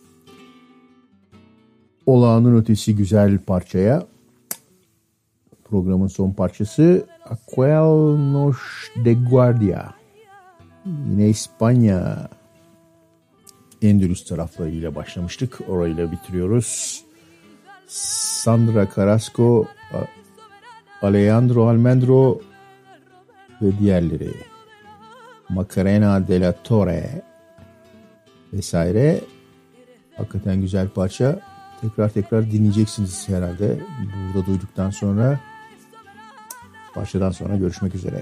olağanın ötesi güzel parçaya. Programın son parçası Aquelnos de Guardia. Yine İspanya Endülüs taraflarıyla başlamıştık. Orayla bitiriyoruz. Sandra Carrasco, Alejandro Almendro ve diğerleri. Macarena de la Torre vesaire. Hakikaten güzel parça. Tekrar dinleyeceksiniz herhalde. Burada duyduktan sonra, parçadan sonra görüşmek üzere.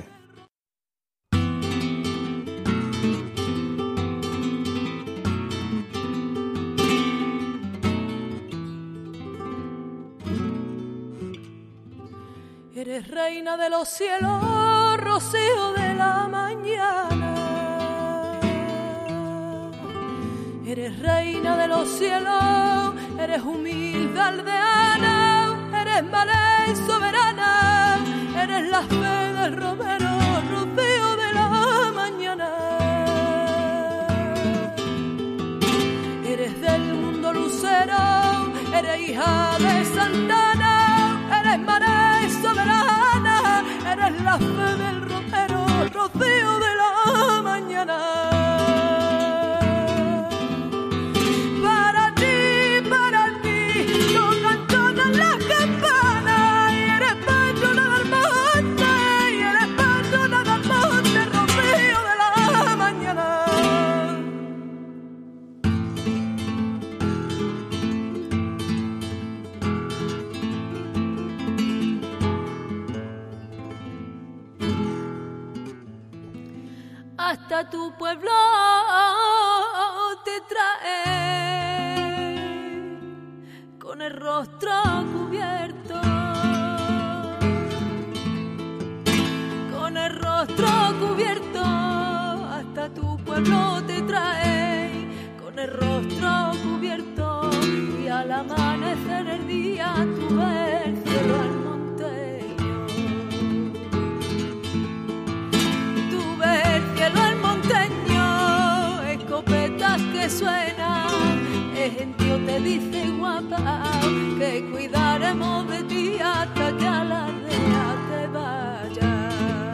Eres reina de los cielos, rocío de la mañana. Eres reina de los cielos, eres humilde aldeana, eres mala y soberana, eres la fe del romero, rocío de la mañana. Eres del mundo lucero, eres hija de Santana, eres mala y soberana, eres la fe del romero, rocío de la mañana. Hasta tu pueblo te trae con el rostro cubierto, con el rostro cubierto. Hasta tu pueblo te trae con el rostro cubierto, y al amanecer el día tú ves el cielo al monteño, tú ves el cielo al monteño, escopetas que suenan, el gentío te dice guapa, que cuidaremos de ti hasta que a la aldea te vaya.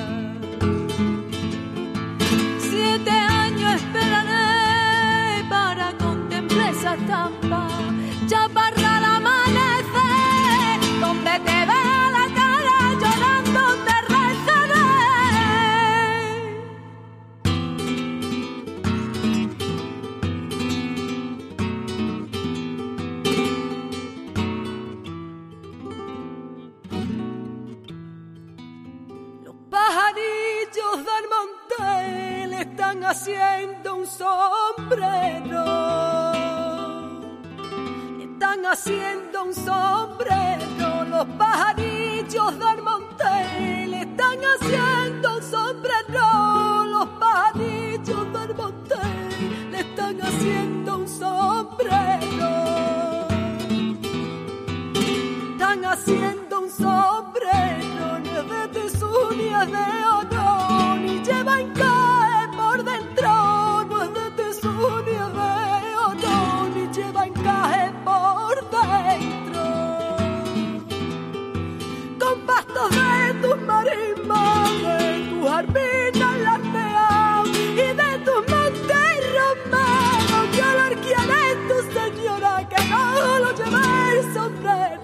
7 años esperaré para contemplar esa estampa, chaparra al amanecer, donde te vea la cara llorando te rezaré. Los pajarillos del monte le están haciendo un sombrero, le están haciendo un sombrero. Los pajarillos del monte le están haciendo un sombrero, los pajarillos del monte le están haciendo un sombrero, están haciendo un sombrero, ni es de tesú ni es de oro, ni lleva encaje por dentro, no es de tesú ni es de oro, ni lleva encaje por dentro. Con pastos de tus marismas, de tus arpinas lardeadas y de tus montes romanos, que alarquearé tu señora, que no lo lleve el sombrero.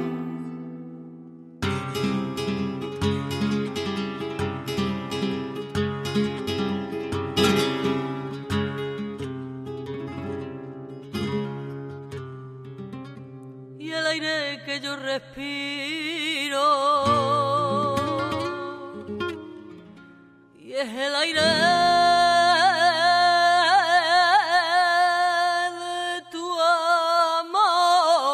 Y el aire que yo respiro, y es el aire de tu amor,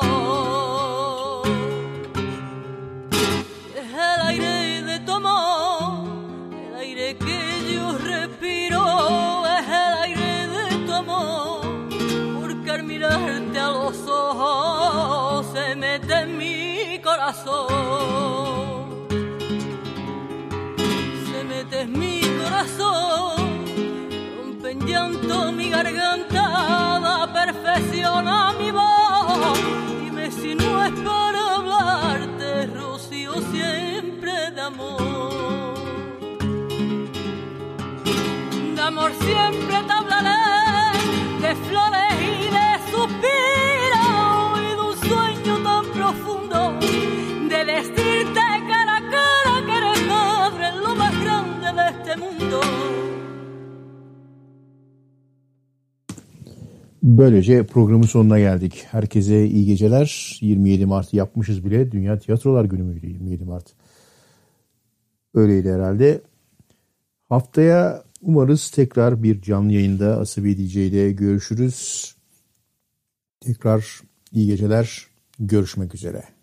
y es el aire de tu amor, el aire que yo respiro, es el aire de tu amor, porque al mirarte a los ojos se mete en mi corazón, se mete en mi corazón. amor. De amor siempre te hablaré, de flores y de suspiros y de un sueño tan profundo, de decirte cara a cara que eres madre, lo más grande de este mundo. Böylece programın sonuna geldik. Herkese iyi geceler. 27 Mart'ı yapmışız bile. Dünya Tiyatrolar Günü müydü 27 Mart? Öyleydi herhalde. Haftaya umarız tekrar bir canlı yayında Asabi DJ ile görüşürüz. Tekrar iyi geceler. Görüşmek üzere.